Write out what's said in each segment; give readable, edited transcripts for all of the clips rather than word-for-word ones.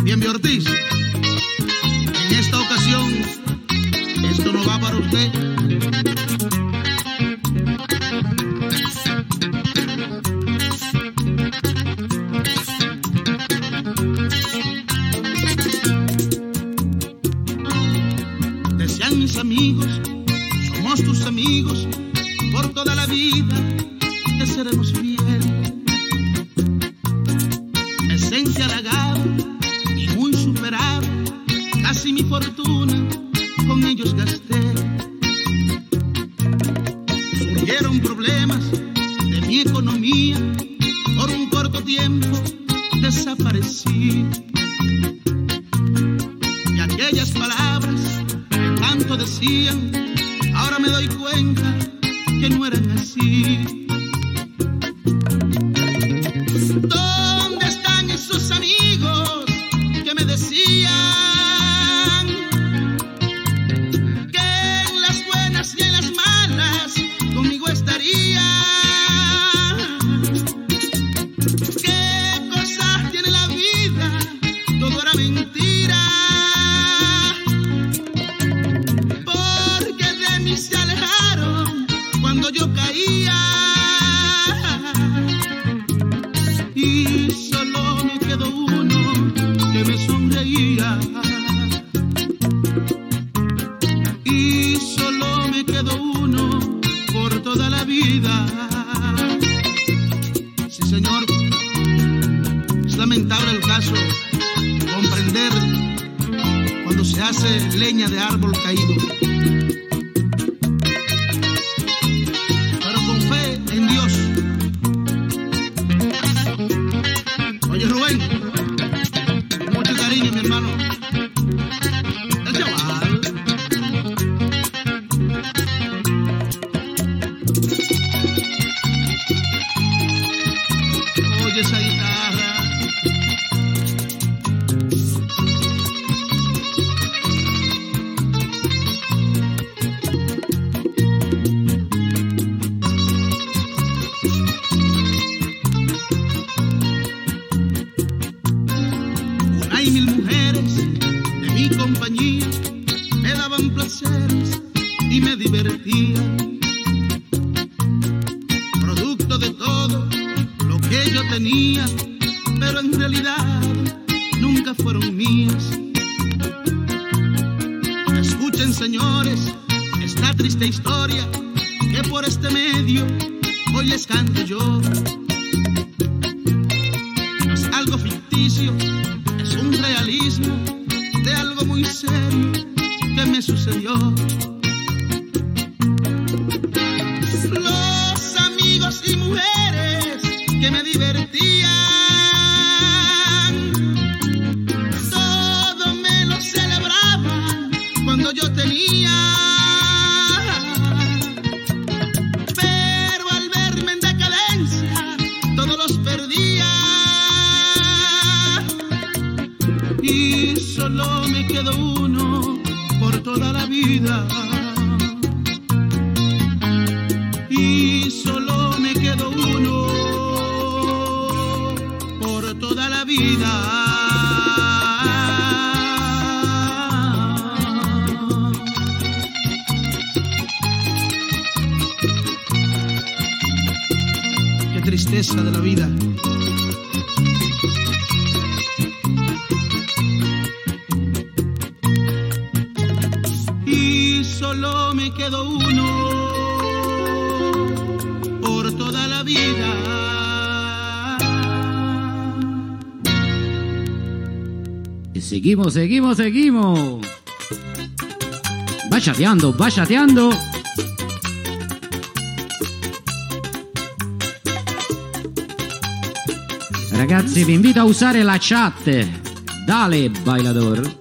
Bien, Ortiz, en esta ocasión, esto no va para usted. Decían mis amigos, somos tus amigos, por toda la vida te seremos fieles. Esencia halagada y muy superada, casi mi fortuna con ellos gasté. Surgieron problemas de mi economía, por un corto tiempo desaparecí. Y aquellas palabras que tanto decían, ahora me doy cuenta que no eran así. ¿Dónde están esos amigos que me decían que en las buenas y en las malas conmigo estarían? ¿Qué cosas tiene la vida? Todo era mentira, porque de mí se alejaron cuando yo caía. Y solo me quedó uno que me sonreía. Y solo me quedó uno por toda la vida. Sí, señor, es lamentable el caso, comprender cuando se hace leña de árbol caído. Pero con fe en Dios. Oye, Rubén, con mucho cariño, mi hermano. El chaval. Oye esa guitarra. Una y mil mujeres de mi compañía me daban placeres y me divertían. Producto de todo lo que yo tenía, pero en realidad nunca fueron mías. Escuchen, señores, esta triste historia que por este medio hoy les canto yo. No es algo ficticio, es un realismo de algo muy serio que me sucedió. Los amigos y mujeres que me divertían, todo me lo celebraban cuando yo tenía. Pero al verme en decadencia, todos los perdía. Y solo me quedó uno por toda la vida. Y solo me quedó uno por toda la vida. Qué tristeza de la vida. Y solo me quedó uno por toda la vida. E seguimos. Va chateando. Ragazzi, vi invito a usare la chat. Dale, bailador.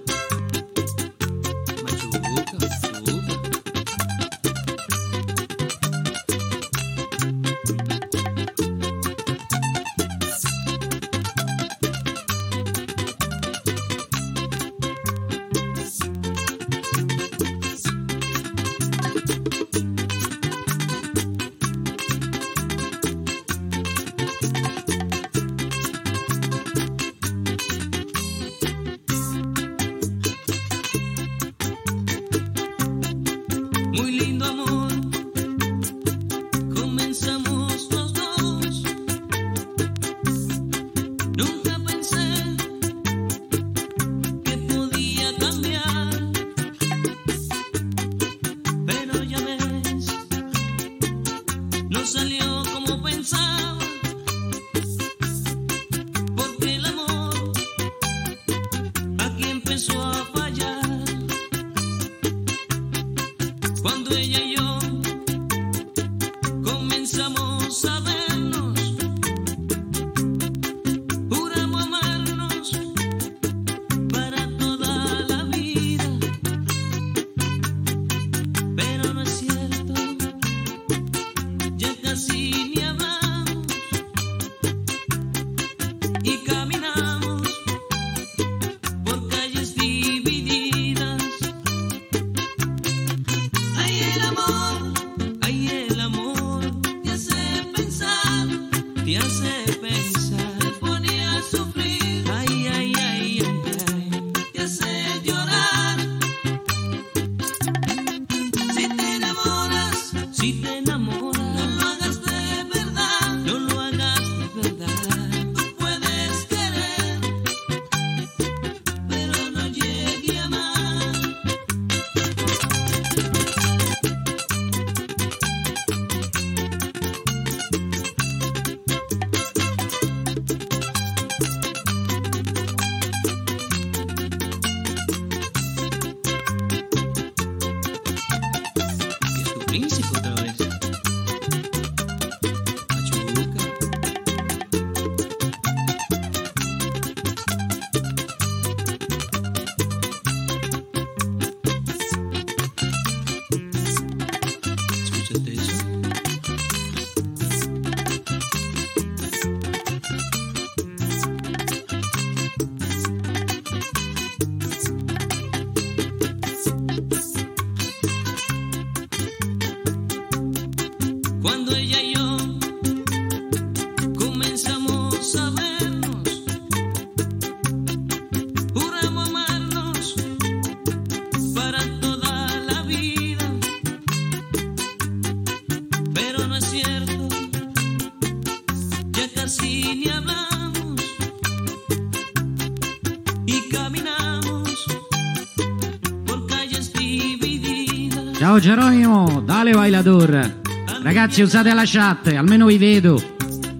Ciao Geronimo, dale bailador. Ragazzi, usate la chat, almeno vi vedo.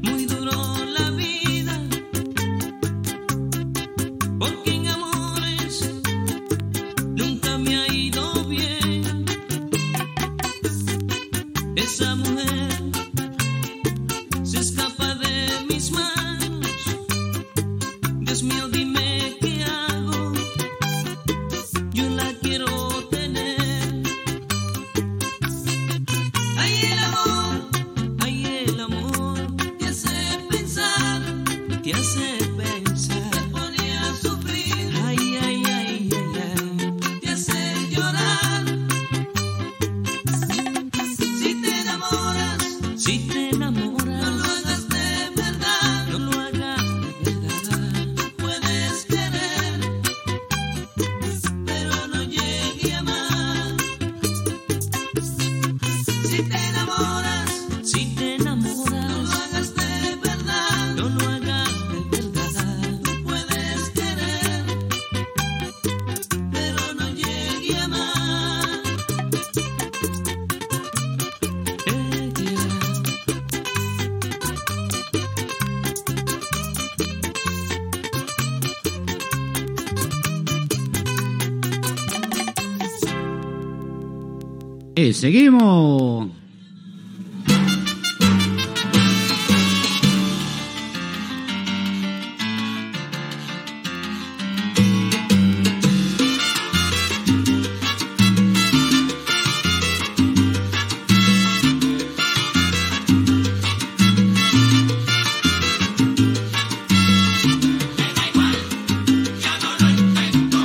Esa mujer se escapa de mis manos. Dios mío, dime qué hago. Yo la quiero tener. Ay, el amor te hace pensar, te hace pensar. Te pone a sufrir. Ay, ay, ay, ay, ay. Te hace llorar. Si te enamoras, no lo hagas de verdad, no lo hagas de verdad. Puedes querer, pero no llegue a amar. Si te enamoras, no lo hagas de verdad, no lo hagas de verdad. Puedes querer, pero no llegue a amar. E seguimos.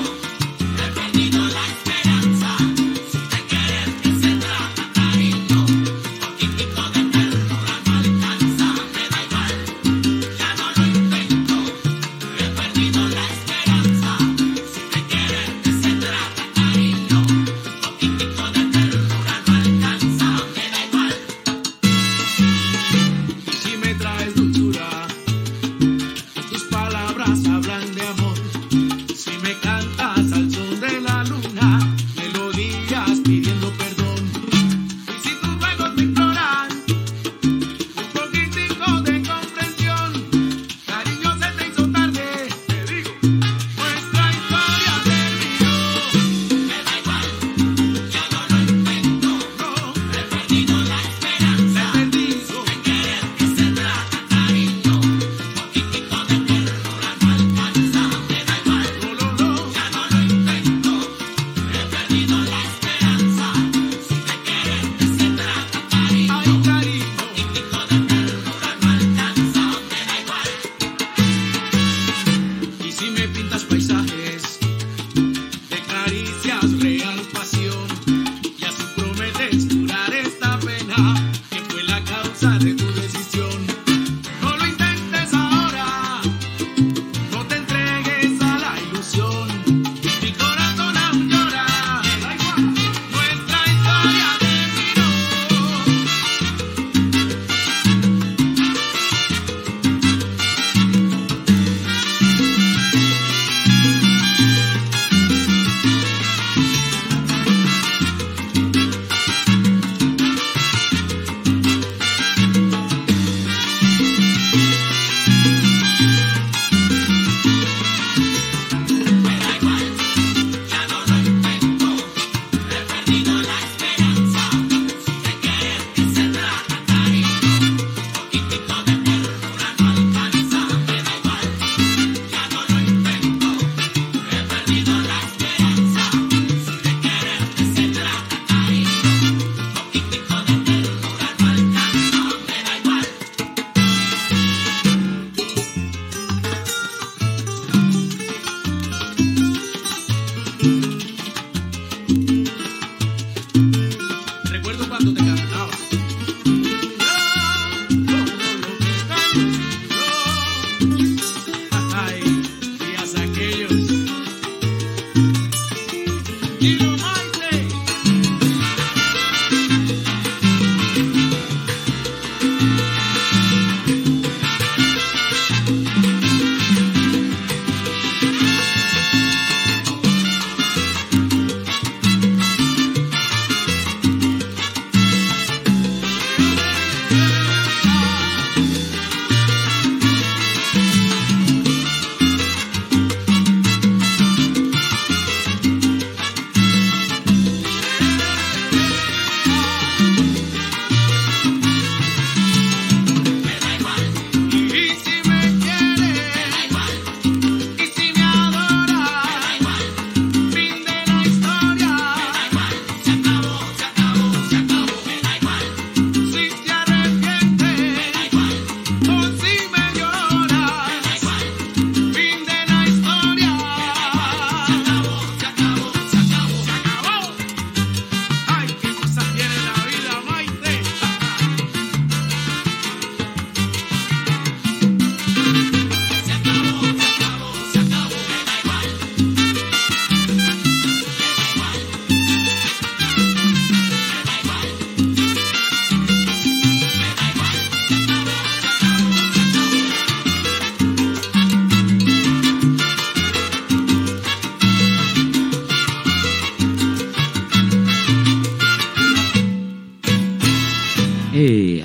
He perdido la esperanza. Si te quieres que se trata, cariño.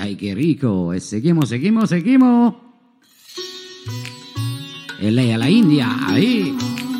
ay, qué rico. E seguimos. E lei alla India, ahí.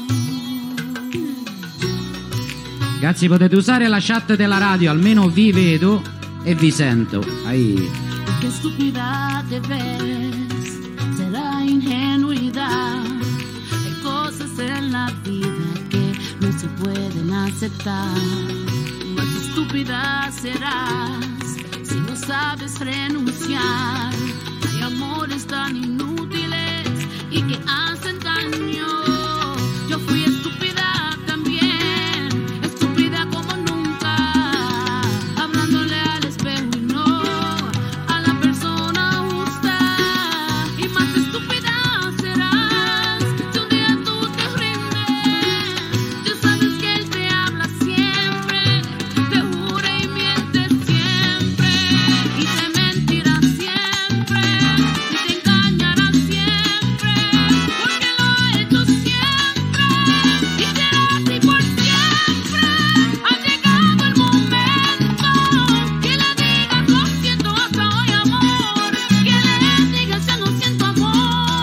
Ragazzi, potete usare la chat della radio, almeno vi vedo e vi sento. Ahí. Qué estúpida te ves, será ingenuidad. Hay cosas en la vida que no se pueden aceptar. Más estúpida serás si no sabes renunciar. Hay amores tan inútiles y que hacen daño. Yo fui estúpida también, estúpida como nunca, hablándole al espejo y no a la persona justa. Y más estúpida serás si un día tú te rindes. Ya sabes que él te habla siempre, te jura y miente siempre, y te mentirá siempre, y te engañará siempre, porque lo ha hecho siempre, y será así por siempre. Ha llegado el momento que le digas lo siento hasta hoy, amor, que le digas ya no siento amor.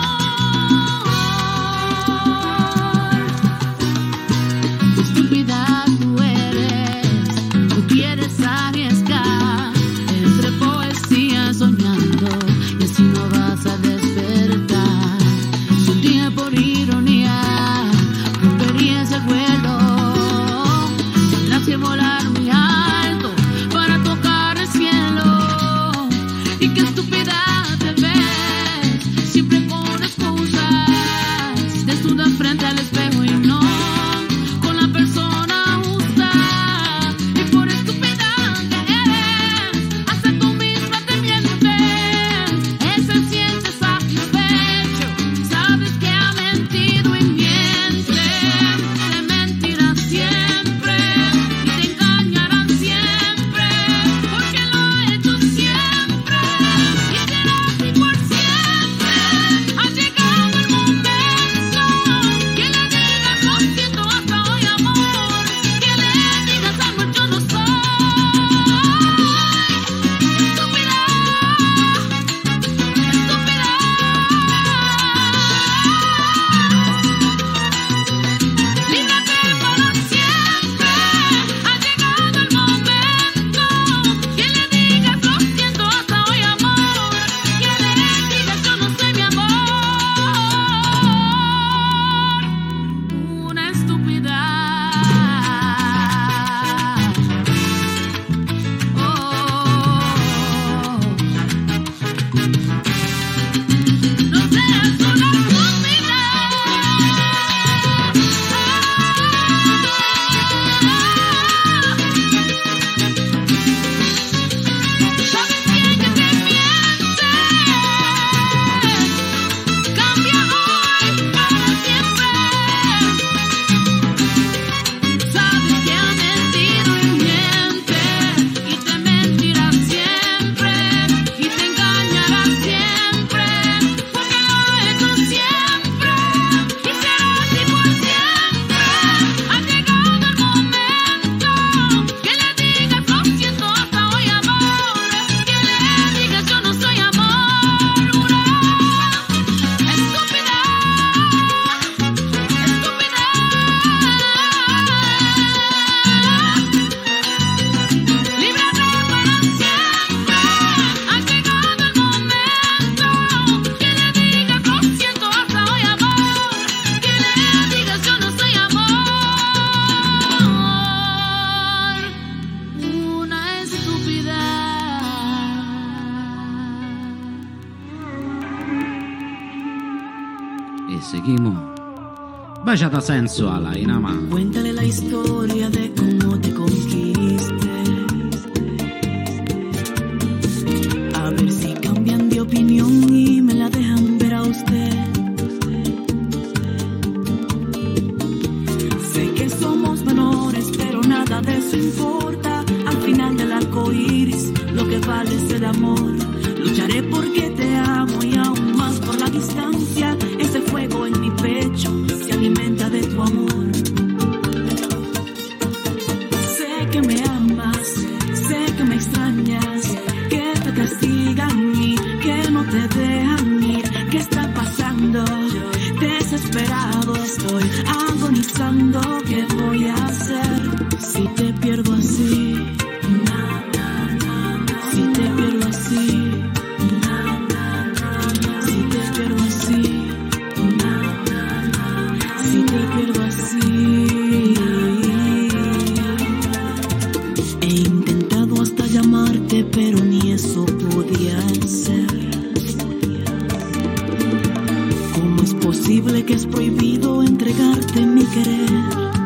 Estúpida tú eres, tú quieres arriesgar entre poesía soñando y así no vas a despertar. Si un día por ironía rompería ese vuelo, tendrás que volar muy alto para tocar el cielo. Y qué estúpida te ves, siempre con excusas, desnuda frente al espejo y no con la persona justa. Y por estúpida que eres, hasta tú misma te mientes. Ese siente satisfecho, sabes que ha mentido y miente. Te mentirá siempre y te engañarán siempre, porque lo ha hecho siempre, y será así por siempre. Ha llegado el momento que le digas lo siento hasta hoy, amor, que le digas amor yo no soy. Estúpida, líbrate para siempre. Ha llegado el momento que le digas lo siento hasta hoy, amor, que le digas yo no soy mi amor. Una estúpida. Oh, no seas una estúpida. Sabes bien que te mientes. Cambia hoy para siempre. Sabes que ha mentido y miente, y te mentirá siempre, y te engañará siempre, porque lo ha hecho siempre, y será así por siempre. Ha llegado el momento que le digas lo siento hasta hoy, amor, que le digas yo no soy amor. Una estúpida, estúpida. Líbrate para siempre. Ha llegado el momento que le digas lo siento hasta hoy, amor, que le digas yo no soy amor. Una estúpida. E seguimos. Baciata sensuala in a mano. Cuéntale la historia de cómo te conquisté. A ver si cambian de opinión y me la dejan ver a usted. Sé que somos menores, pero nada de eso importa. Al final del arco iris, lo que vale es el amor. Lucharé porque te amo y aún más por la distancia. Ese fuego en mi pecho se alimenta de tu amor. Sé que me amas, sé que me extrañas, que te castigas estoy agonizando. ¿Qué voy a hacer si te pierdo así? Si te pierdo así, si te pierdo así, si te pierdo así. He intentado hasta llamarte, pero ni eso podía ser. ¿Cómo es posible que es prohibido entregarte mi querer?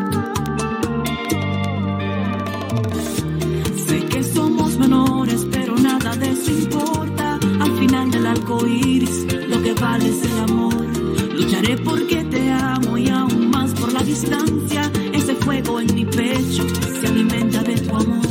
Sé que somos menores, pero nada de eso importa. Al final del arco iris, lo que vale es el amor. Lucharé porque te amo y aún más por la distancia. Ese fuego en mi pecho se alimenta de tu amor.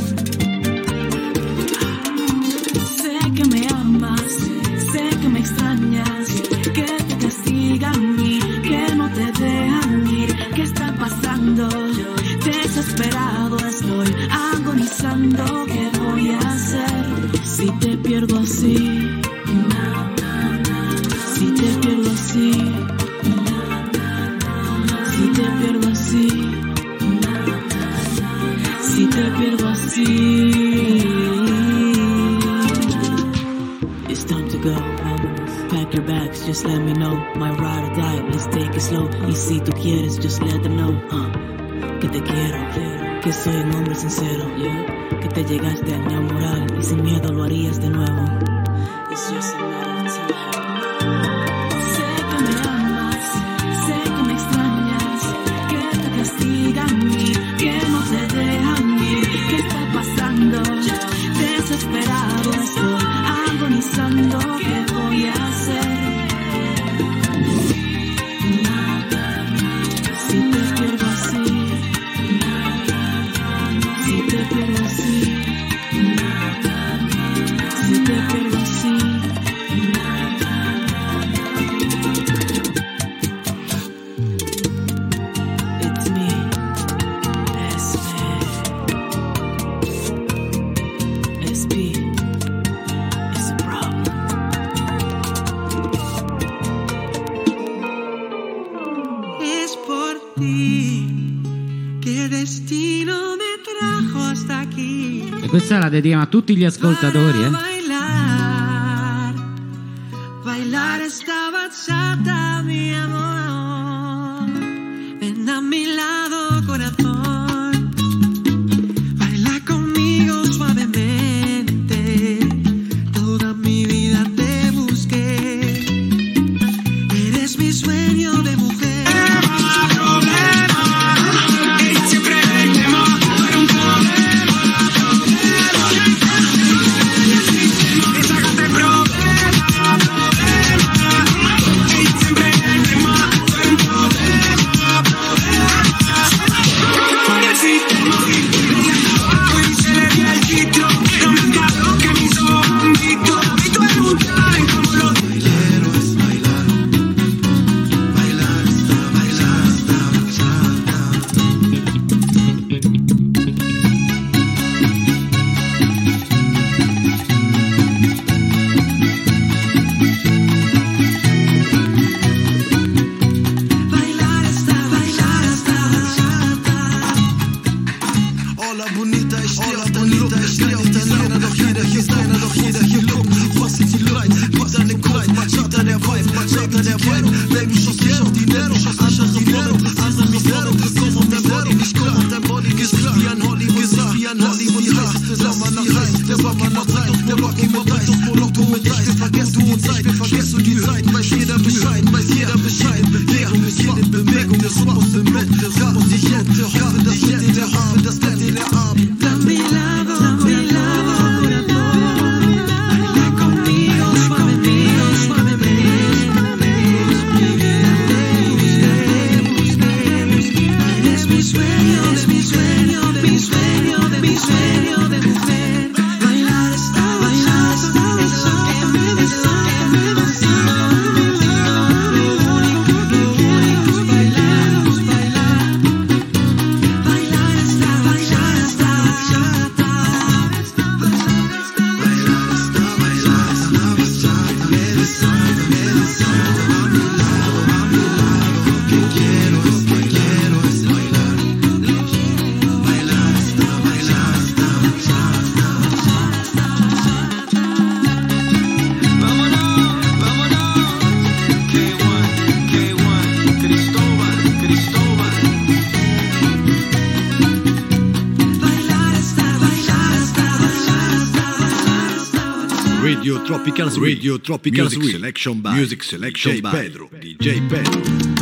Sé que me amas, sé que me extrañas, que te castigan y que no te dejan ir. ¿Qué está pasando? Desesperado estoy, agonizando. ¿Qué voy a hacer si te pierdo así? Si te pierdo así, si te pierdo así, si te pierdo así. It's time to go. Pack your bags, just let me know. My ride or die, let's take it slow. Y si tú quieres, just let them know que te quiero, que soy un hombre sincero, que te llegaste a enamorar y sin miedo lo harías de nuevo. It's just a matter of time. Sé que me amas, sé que me extrañas, que te castigan y que no te dejan ir. ¿Qué está pasando? Desesperado estoy, agonizando. ¿Qué voy a hacer? Si te pierdo así, si te pierdo así, si te pierdo así. It's me, SP, it's a problem. Es por ti che destino me trajo hasta aquí. E questa la dedichiamo a tutti gli ascoltatori, Bailar, bailar esta bachata, mi amor. Ven a mi lado, corazón. Baila conmigo suavemente. Toda mi vida te busqué. Eres mi sueño de mujer. quiero Radio Tropical Swing. Radio Tropical Swing. Music selection by Pedro. DJ Pedro.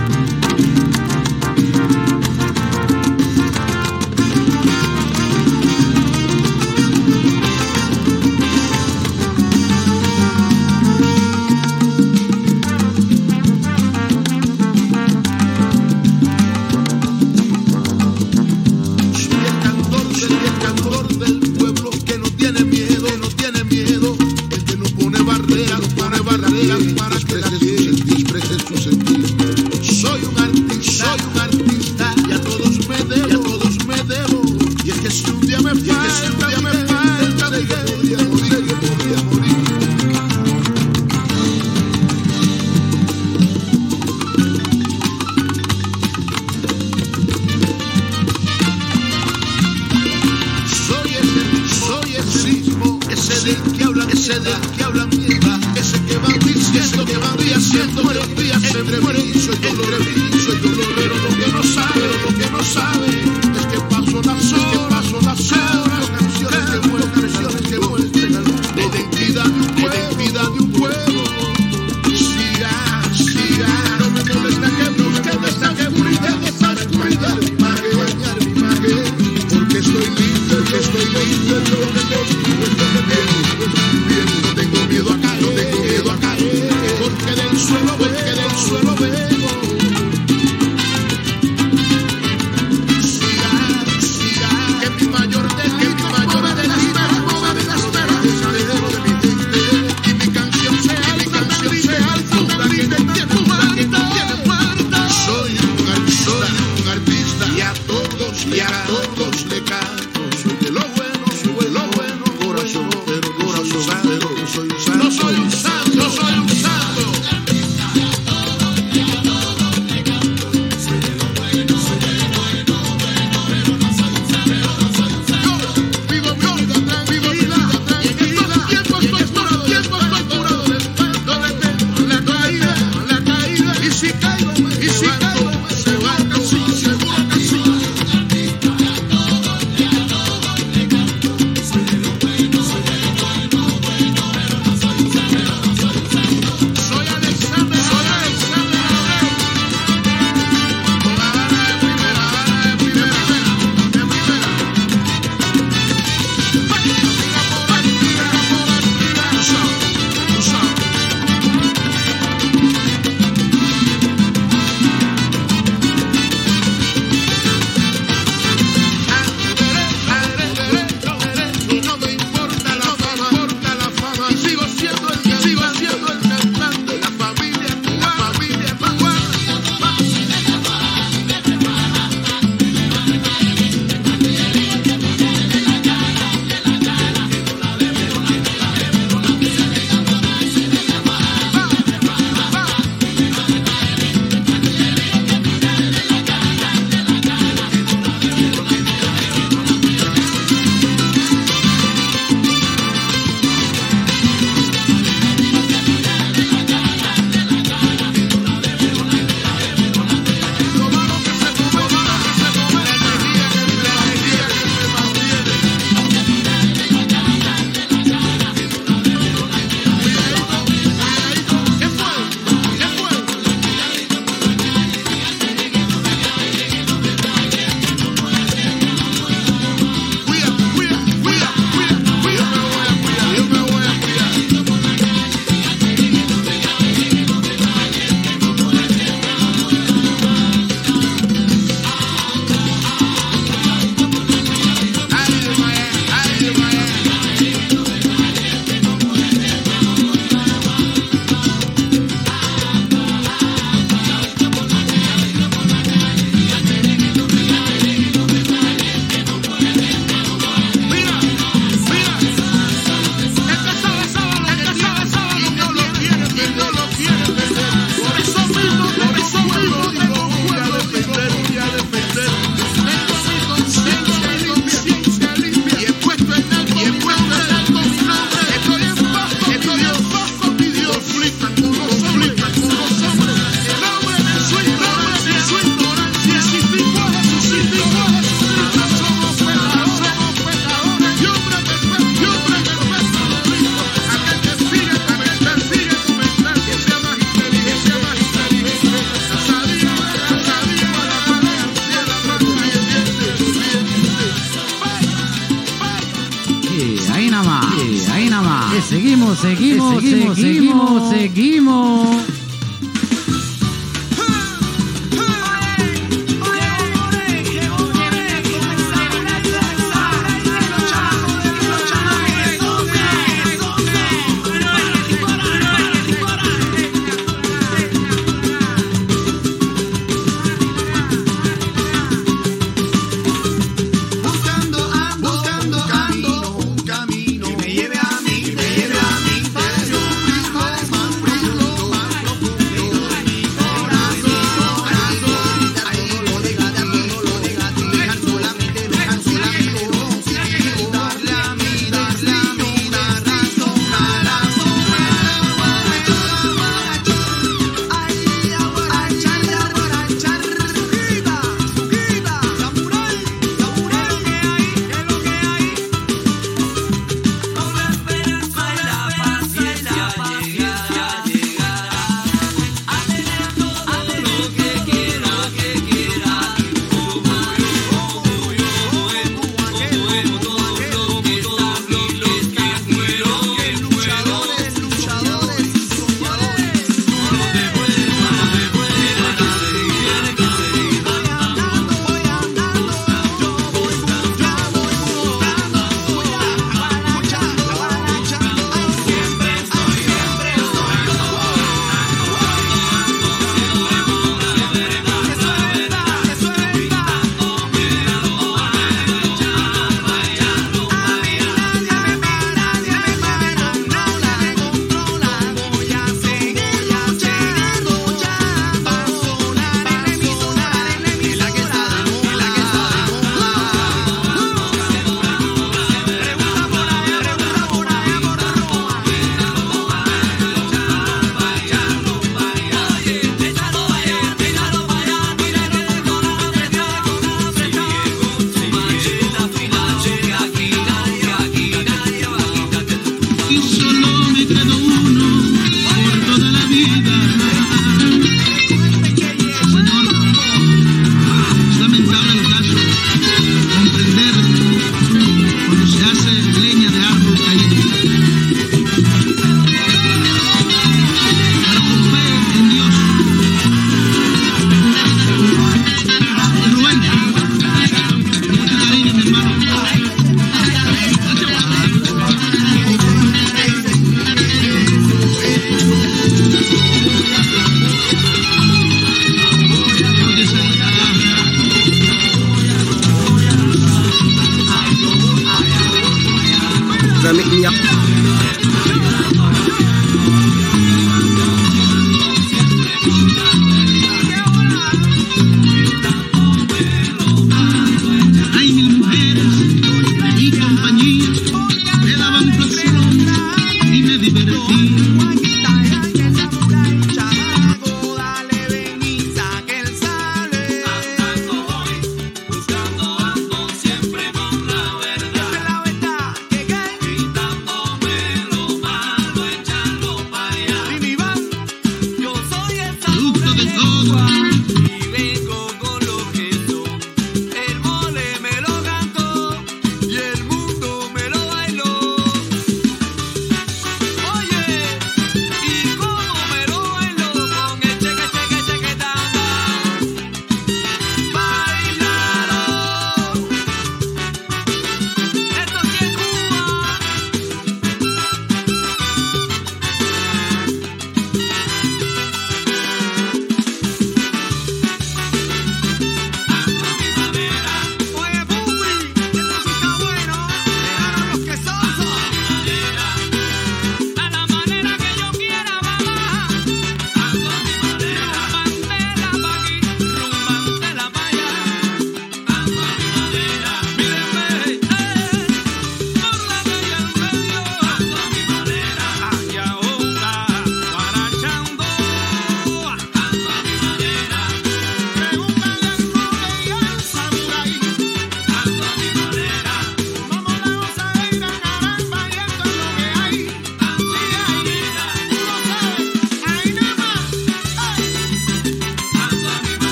programa. Y seguimos.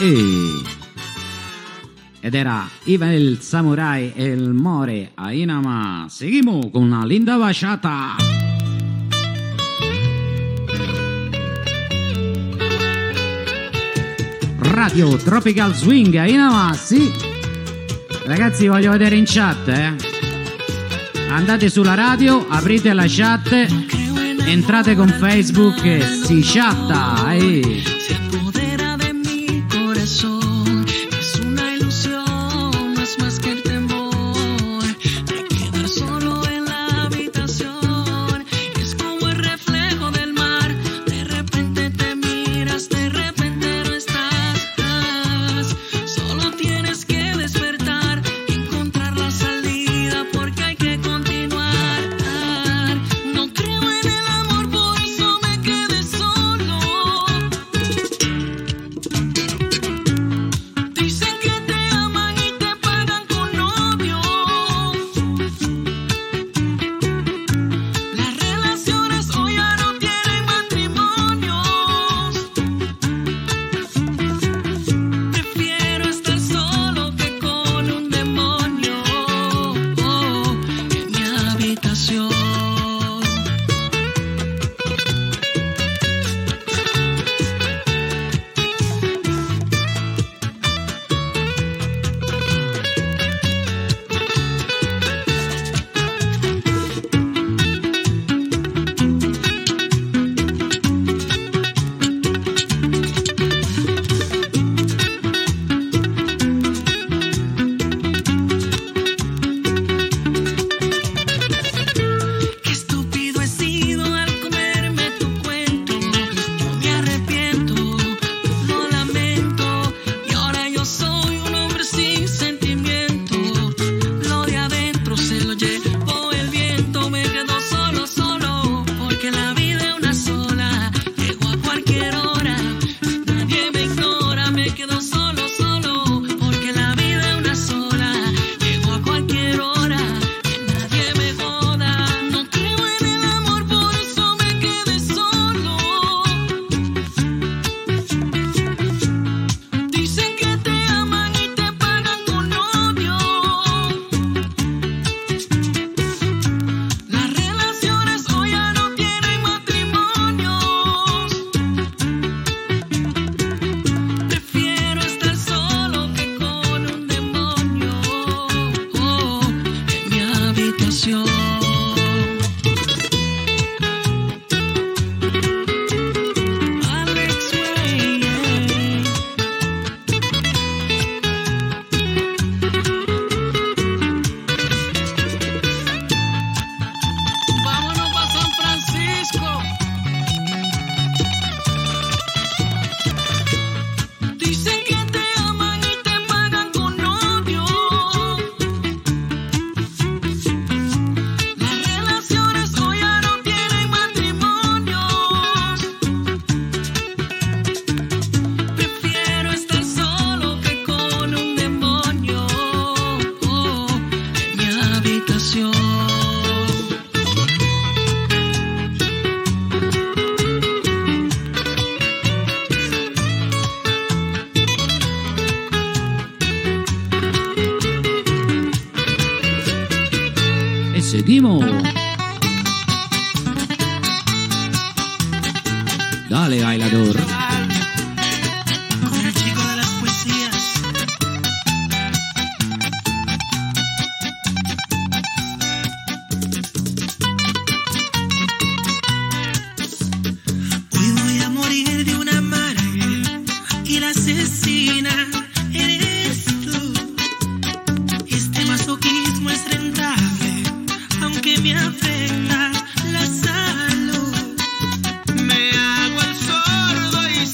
Ed era Ivan el Samurai e il More Ainama. Seguimos con una linda bachata. Radio Tropical Swing Ainama, sì. Ragazzi, voglio vedere in chat, Andate sulla radio, aprite la chat, entrate con Facebook e si chatta, Se apodera de mi corazón, es una ilusión, no es más que el temor de quedar solo en la habitación. Es como el reflejo del mar, de repente te miras, de repente no estás. Solo tienes que despertar, encontrar la salida, porque hay que continuar. No creo en el amor, por eso me quedé solo. Dicen que te aman y te pagan con novios. Las relaciones hoy ya no tienen matrimonios. Prefiero estar solo que con un demonio en mi habitación. Qué estúpido he sido al comerme tu cuento. Yo me arrepiento, lo lamento. Y ahora yo soy un hombre sin sentimiento. Lo de adentro se lo llevó el viento. Me quedo solo, solo, porque la vida es una sola. Llego a cualquier hora, nadie me ignora. Me quedo solo, solo, porque la vida es una sola. Llego a cualquier hora, que nadie me joda. No creo en el amor, por eso me quedé solo. Dicen que te aman y te pagan con novios. Las relaciones hoy ya no tienen matrimonios. Prefiero estar solo que con un demonio en mi habitación. Alex Way, vámonos pa' San Francisco. Dicen que te aman y te pagan con novios. Las relaciones hoy ya no tienen matrimonios. Prefiero estar solo que con un demonio en mi habitación. E seguimos. Dale, bailador. Con el chico de las poesías. Hoy voy a morir de una amarga y la asesina eres tú. Este masoquismo es rentable, aunque me afecta la salud. Me hago el sordo y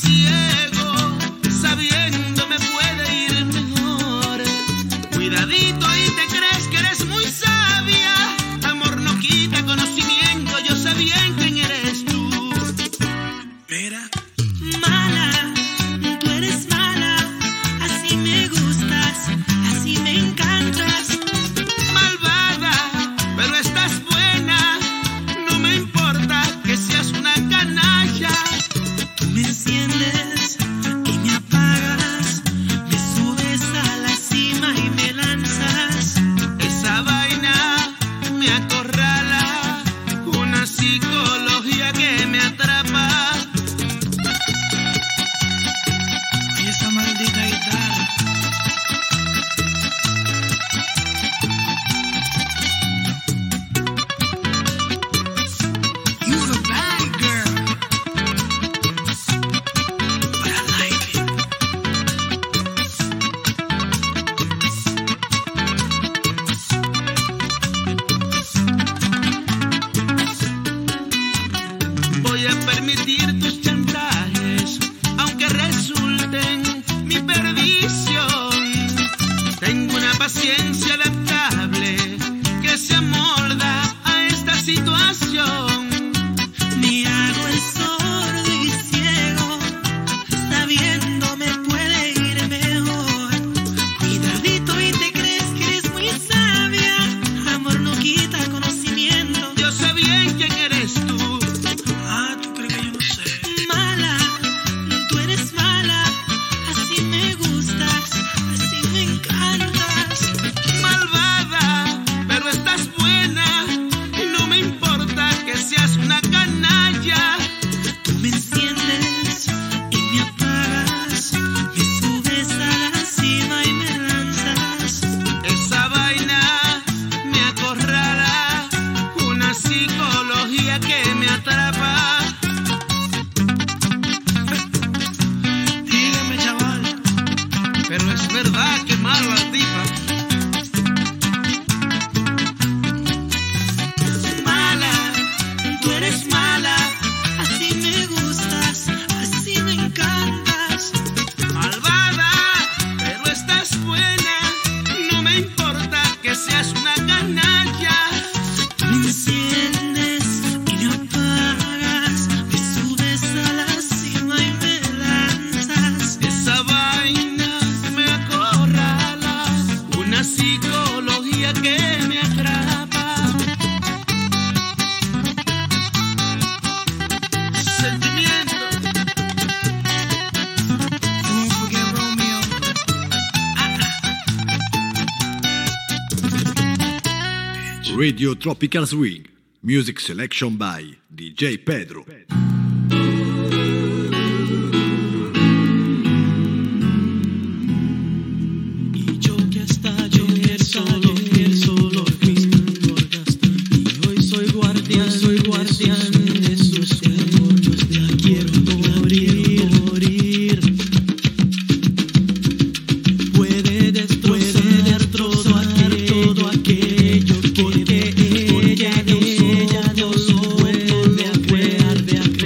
psicología que me atrapa. Y esa maldita guitarra. You're a bad girl, but I like it. Voy a permitir tus chantajes, aunque resulten mi perdición. Tengo una paciencia adaptable que se amolda a esta situación. Me hago el sordo y ciego, sabiendo me puede ir mejor. Cuidadito y te crees que eres muy sabia. Amor no quita conocimiento. Yo sé bien quién eres tú. Ah, ¿tú crees que yo no sé? Mala, tú eres mala. Así me gustas, así me encantas. Malvada, pero estás buena. No me importa que seas una canalla. Tú me enciendes y me apagas. Me subes a la cima y me lanzas. Esa vaina me acorrala, una psicología que me atrapa. Dígame, chaval. Pero es verdad que mala tipa. Mala, tú eres mala. Así me gustas, así me encantas. Malvada, pero estás buena. No me importa que seas una canalla. Me enciendes y me apagas. Me subes a la cima y me lanzas. Esa vaina me acorrala, una psicología que me atrapa. Sentimiento. Don't forget Romeo. Radio Tropical Swing. Music selection by DJ Pedro. Y yo que hasta ayer solo fui engordaste. Y hoy soy guardián de sus demonios. Ya quiero morir. Puede destrozar todo aquello porque ella no vuelve a crear.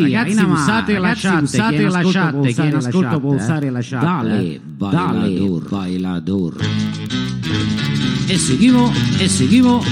ragazzi, usate la chat, chi in ascolto può usare la chat. Dale, bailador. E seguivo.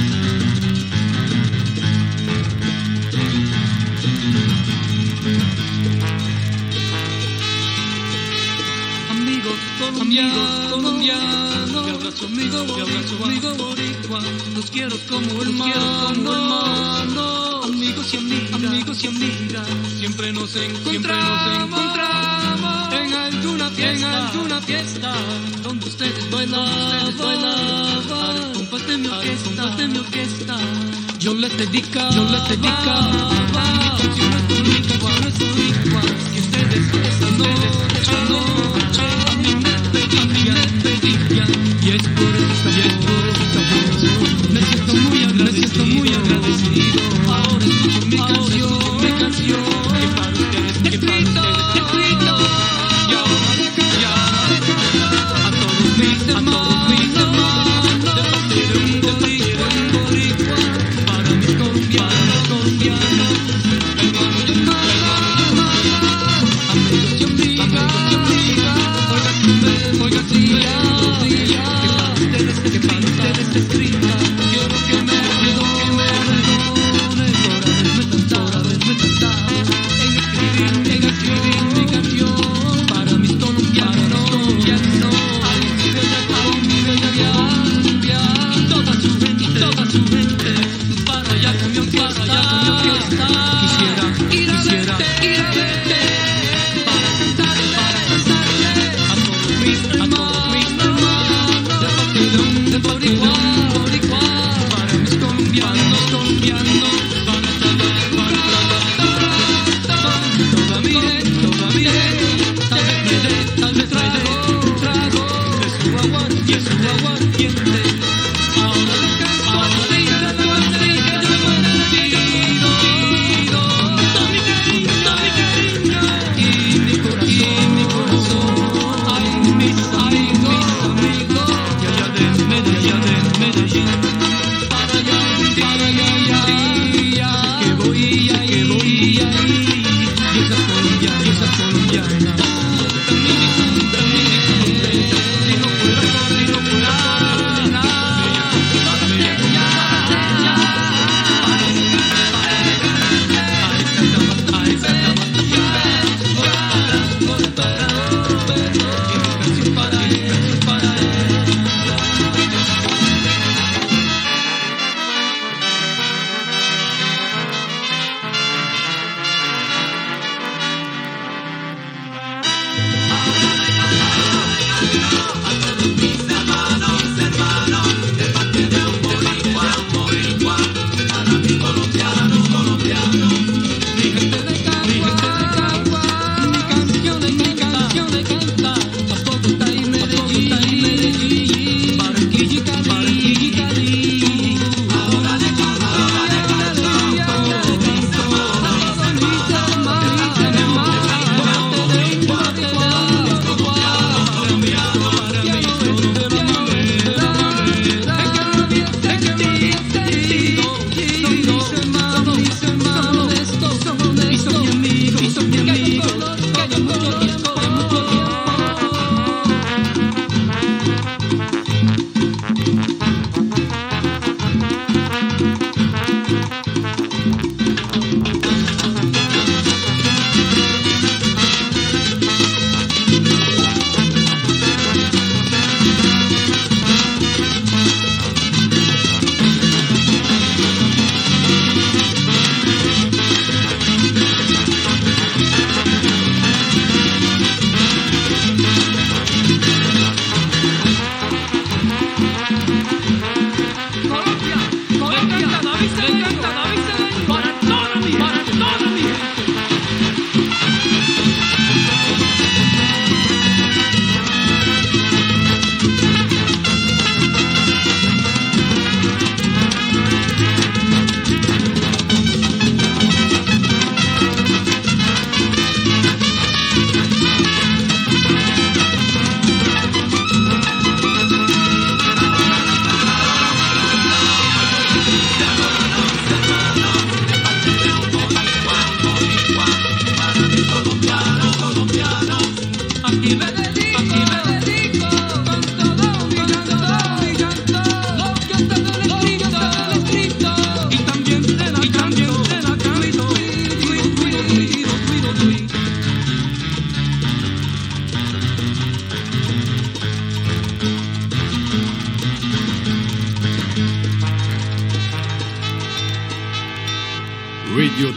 Colombiano, mi abrazo amigo boricua, los quiero como hermano, amigos y amigas, siempre nos encontramos en alguna fiesta, donde ustedes bailaban, compás de mi orquesta, yo les dedicaba canciones boricuas, que ustedes esta noche a mí me pedían, y es por esta voz me siento muy agradecido. Ahora escucho mi canción, que para ustedes te grito, y ahora a todos mis hermanos, de un boricua, para mis colombianos, hermanos.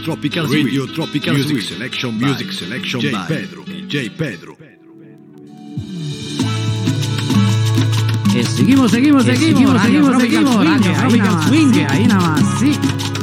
Tropical Music Selection by DJ Pedro. E seguimos Radio Tropical Swing, ahí nada más, sí.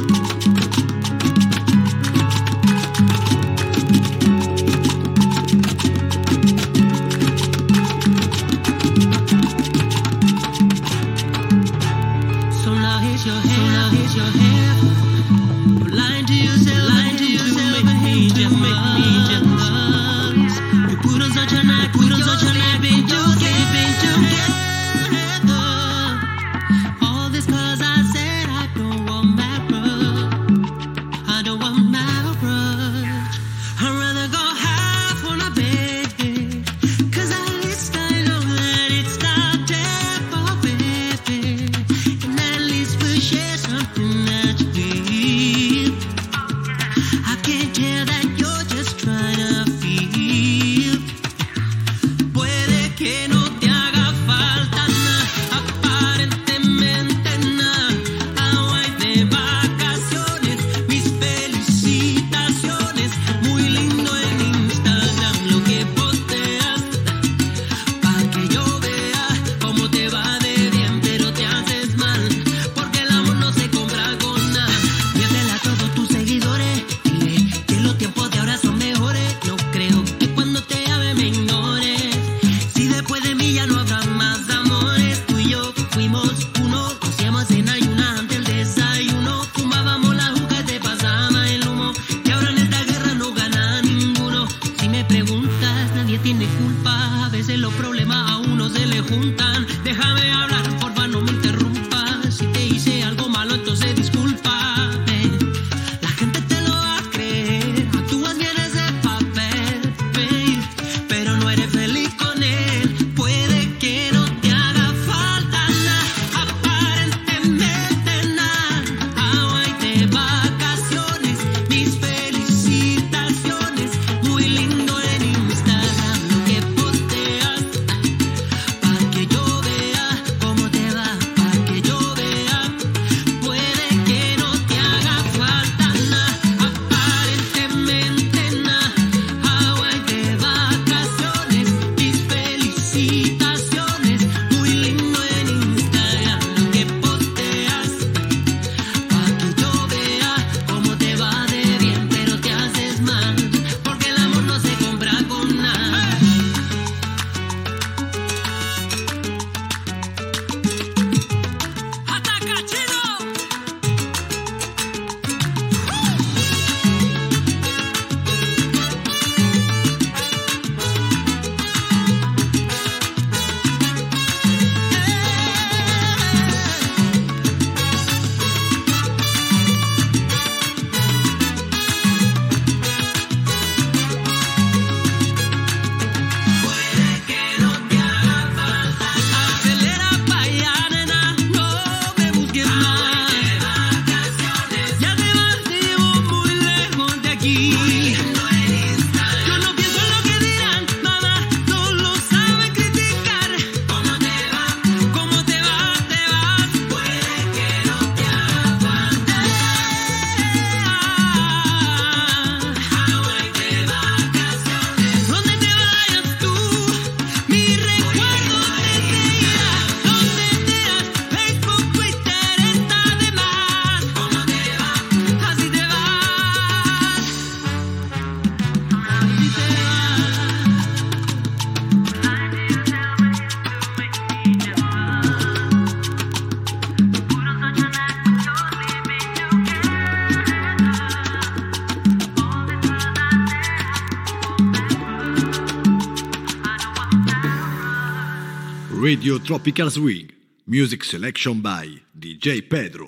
Radio Tropical Swing, Music Selection by DJ Pedro.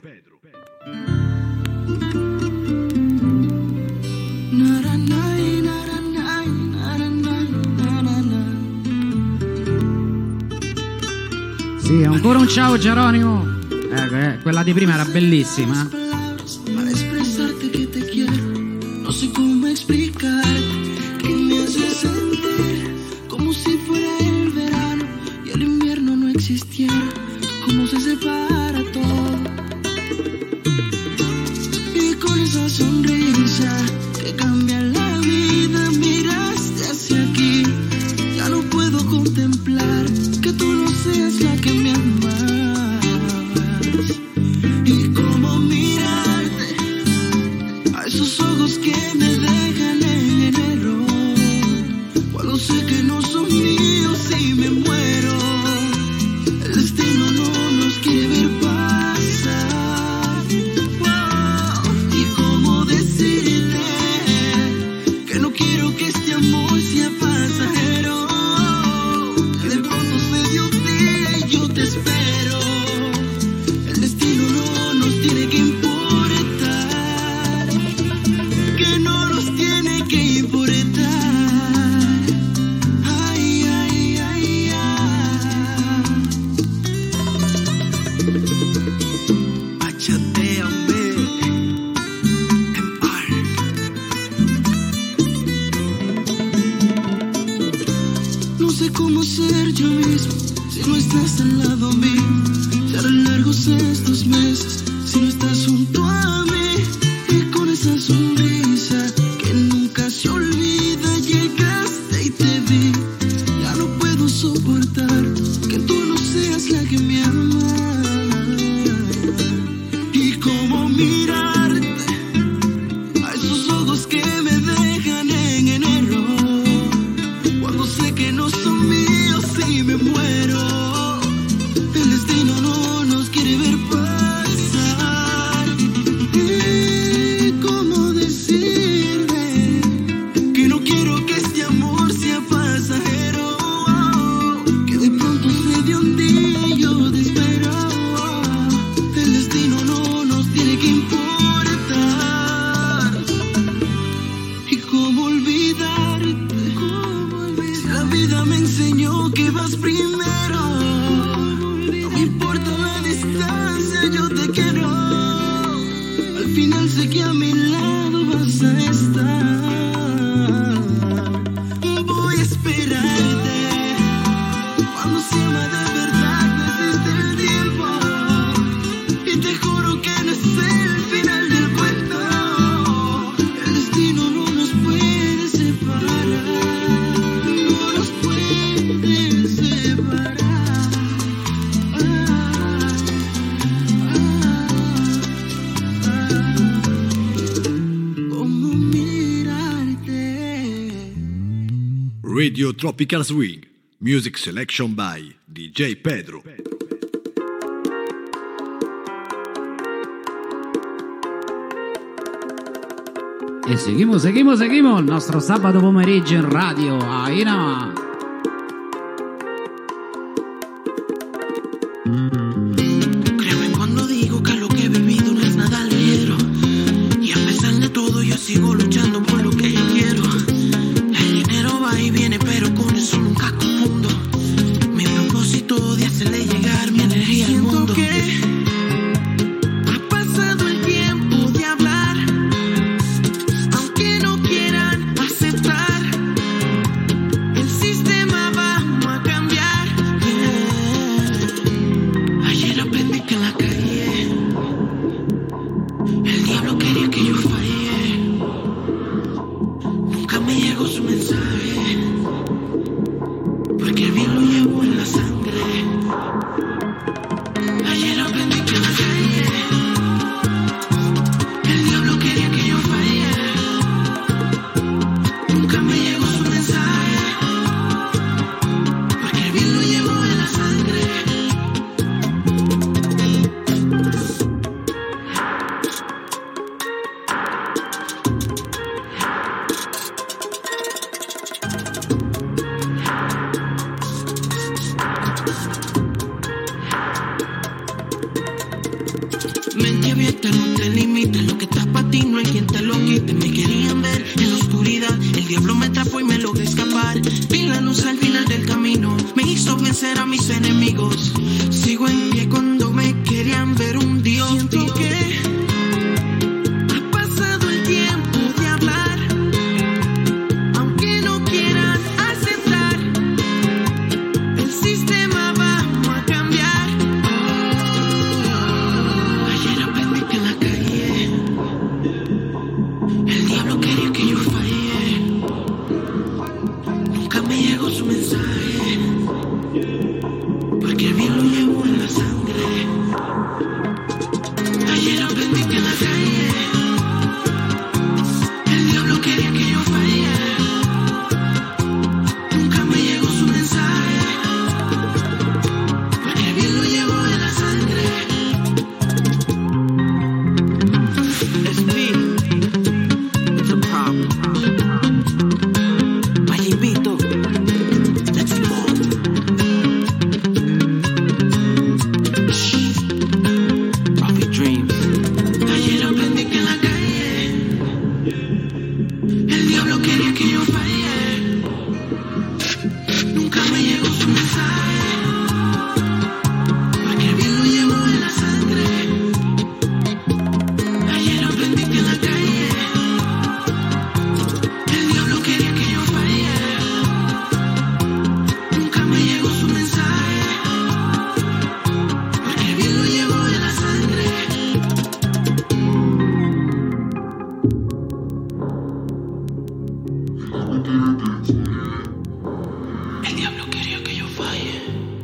Sì, ancora un ciao Geronimo. Quella di prima era bellissima. Para expresarte que te quiero, no sé cómo explicar que me hace sentir como si fuera el verano y el invierno no existiera, como se separa todo. Y con esa sonrisa quiero que este amor sea pasajero. De pronto se dio un día y yo te espero. El destino no nos tiene que importar, que no nos tiene que importar. Ay, ay, ay, ay. Bachateame. No sé cómo ser yo mismo si no estás al lado mío. Se harán largos estos meses si no estás junto a mí. Y con esa sonrisa que nunca se olvida, llegaste y te vi. Ya no puedo soportar que tú no seas la que me ama. Y cómo mirarte a esos ojos que me dejan en enero. Cuando sé que no son míos y me muero. El destino no nos quiere ver pasar. ¿Y cómo decirle que no quiero que este amor sea pasajero? Que de pronto se dio un día y yo te espero. El destino no nos tiene que importar. ¿Y cómo olvidarte? Si la vida me enseñó que vas primero. No me importa la distancia, yo te quiero. Al final sé que a mi lado vas a estar. Voy a esperarte. Cuando se ama de verdad no existe el tiempo. Y te juro que no es el final del cuento. El destino no nos puede separar. No nos puede separar. ¿Cómo mirarte? Radio Tropical Swing. Music selection by DJ Pedro. E seguimos il nostro sabato pomeriggio in radio. Ahí nada más. Créeme cuando digo que lo que he vivido no es nada ligero. Y a pesar de todo yo sigo luchando por lo que yo quiero. El dinero va y viene, pero con eso nunca confundo mi propósito de hacerle llegar mi energía al mundo. Que ha pasado el tiempo de hablar, aunque no quieran aceptar. El sistema va a cambiar. Ayer aprendí que en la calle el diablo quería que yo fallé. Nunca me llegó su mensaje, porque el bien lo llevo en la sangre. Ayer aprendí que en la calle el diablo quería que yo fallé. Nunca me llegó su mensaje, porque el bien lo llevo en la sangre. Mente abierta, no te limites. Lo que está para ti no hay quien te lo quite. Me querían ver en la oscuridad. El diablo me atrapó y me logré escapar. Vi la luz al final del camino. Me hizo vencer a mis enemigos. Sigo en pie cuando me querían ver un Dios. Siento que ha pasado el tiempo de hablar, aunque no quieran aceptar. El sistema va a cambiar. Ayer aprendí que en la calle el diablo quería que yo fallé. Nunca me llegó su mensaje, porque el bien lo llevo en la sangre. El diablo quería que yo falle.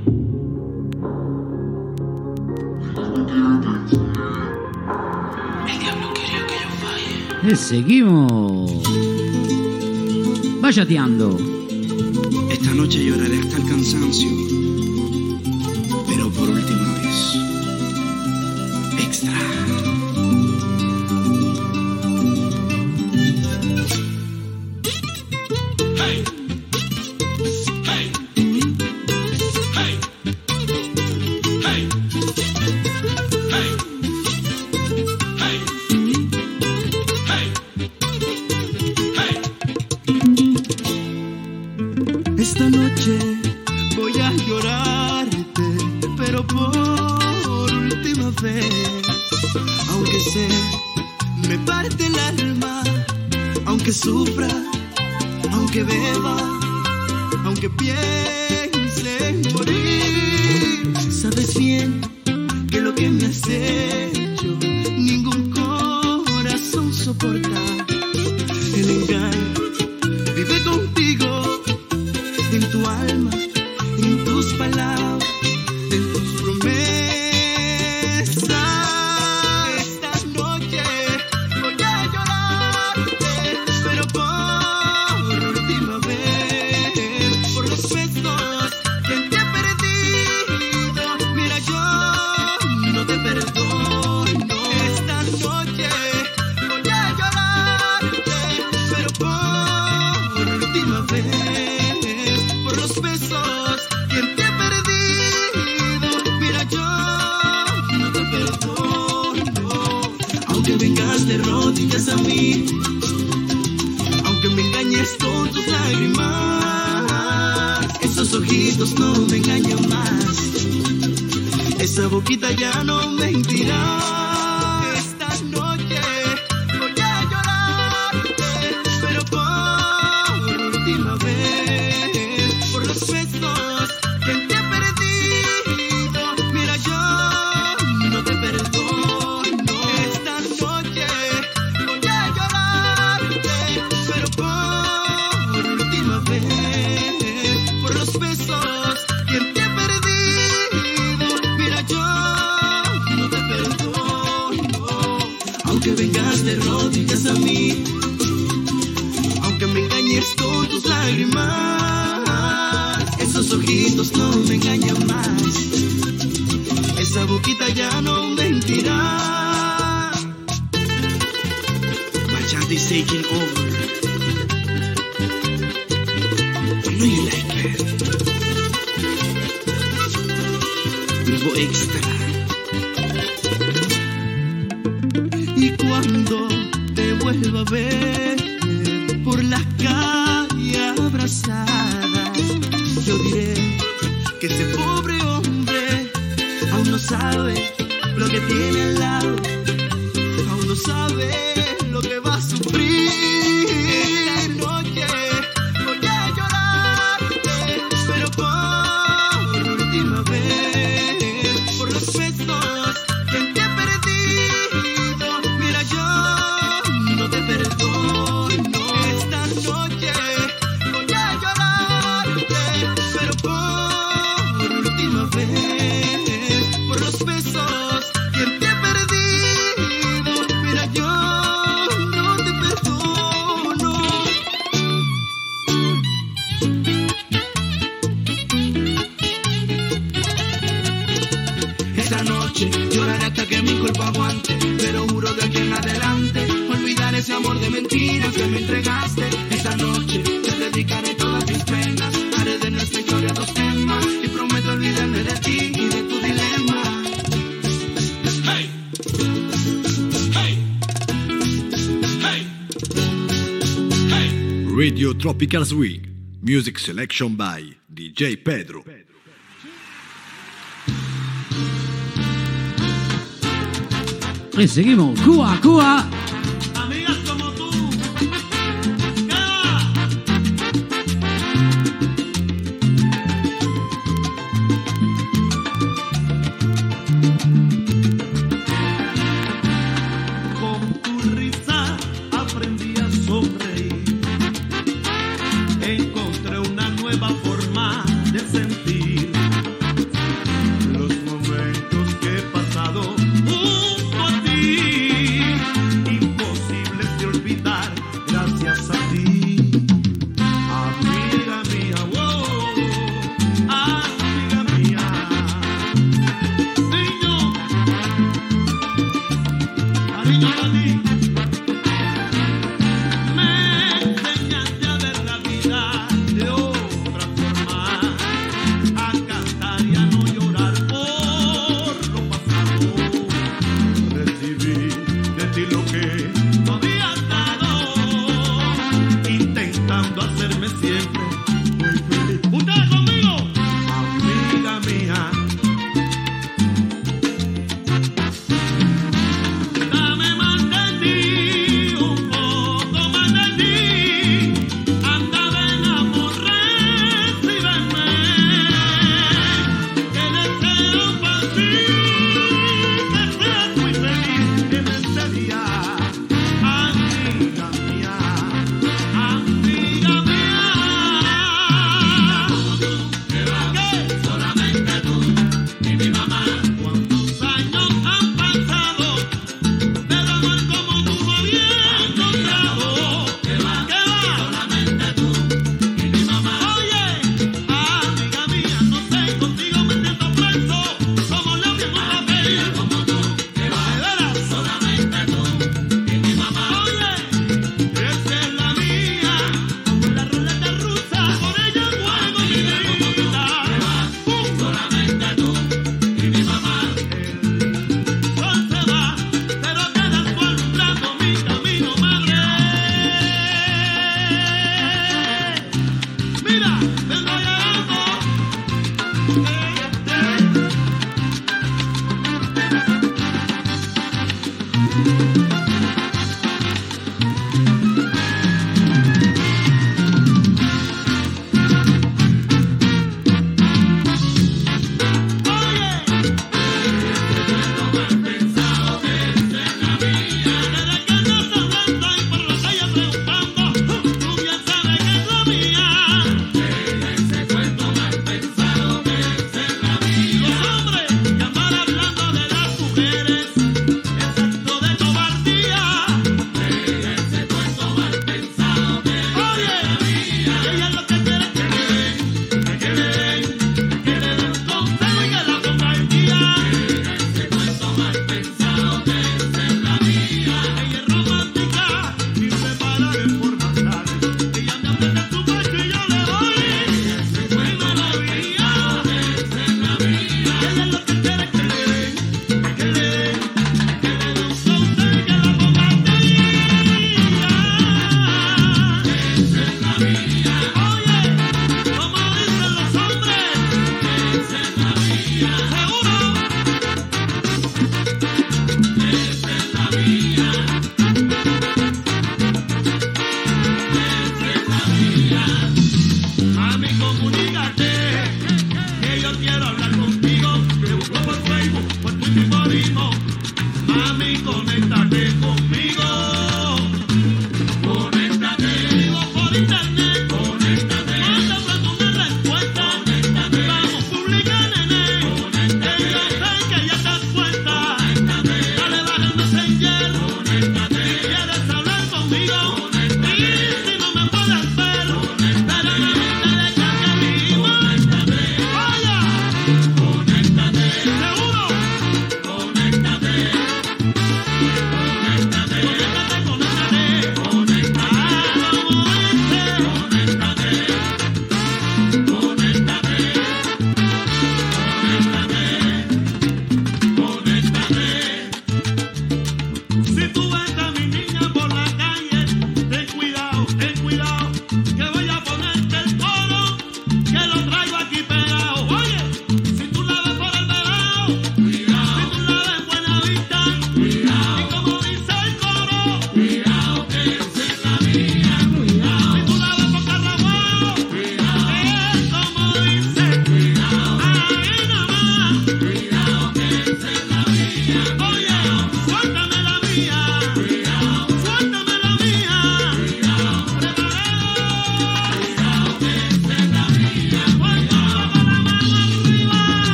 El diablo quería que yo falle. E seguimos bachateando. Esta noche lloraré hasta el cansancio, pero por última vez. Extra. Esta noche voy a llorarte, pero por última vez. Aunque sé, me parte el alma, aunque sufra, aunque beba, aunque piense en morir. Sabes bien que lo que me has hecho, ningún corazón soporta. El engaño vive contigo, en tu alma, en tus palabras, en tus promesas. Esta noche voy a llorarte, pero por última vez, por los besos que te he perdido. Mira, yo no te perdono. Esta noche voy a llorarte, pero por última vez, por los besos que te he perdido. Mira, yo no te perdono. Aunque vengas de rodillas a mí, aunque me engañes con tus lágrimas, esos ojitos no me engañan más, esa boquita ya no mentirá. Esta noche voy a llorarte, pero por última vez, por los besos que te he perdido. Mira, yo no te perdono. Esta noche voy a llorarte, pero por última vez, por los besos que te he perdido. Mira, yo no te perdono. Aunque vengas de rodillas a mí, aunque me engañes con tus lágrimas, esos ojitos no me engañan más, esa boquita ya no mentirá. Bachata is taking over. I know you like it. Grupo Extra. Y cuando te vuelva a ver por las calles abrazadas, yo diré que ese pobre hombre aún no sabe lo que tiene al lado, aún no sabe lo que va a sufrir. Esta noche voy a llorarte, pero por última vez, por los besos que te he perdido. Mira, yo no te perdono. Esta noche voy a llorarte, pero por última vez, por los besos que te he perdido. Mira, yo no te perdono. Esta noche lloraré hasta que mi cuerpo aguante, pero juro de aquí en adelante olvidar ese amor de mentiras que me entregaste. Esta noche te dedicaré todas mis penas, haré de nuestra historia dos temas y prometo olvidarme de ti y de tu dilema. Hey, hey, hey, hey. Radio Tropical Swing. Music selection by DJ Pedro. E seguimos. Cuba, Cuba. Amigas como tú. Con tu risa aprendí a sonreír.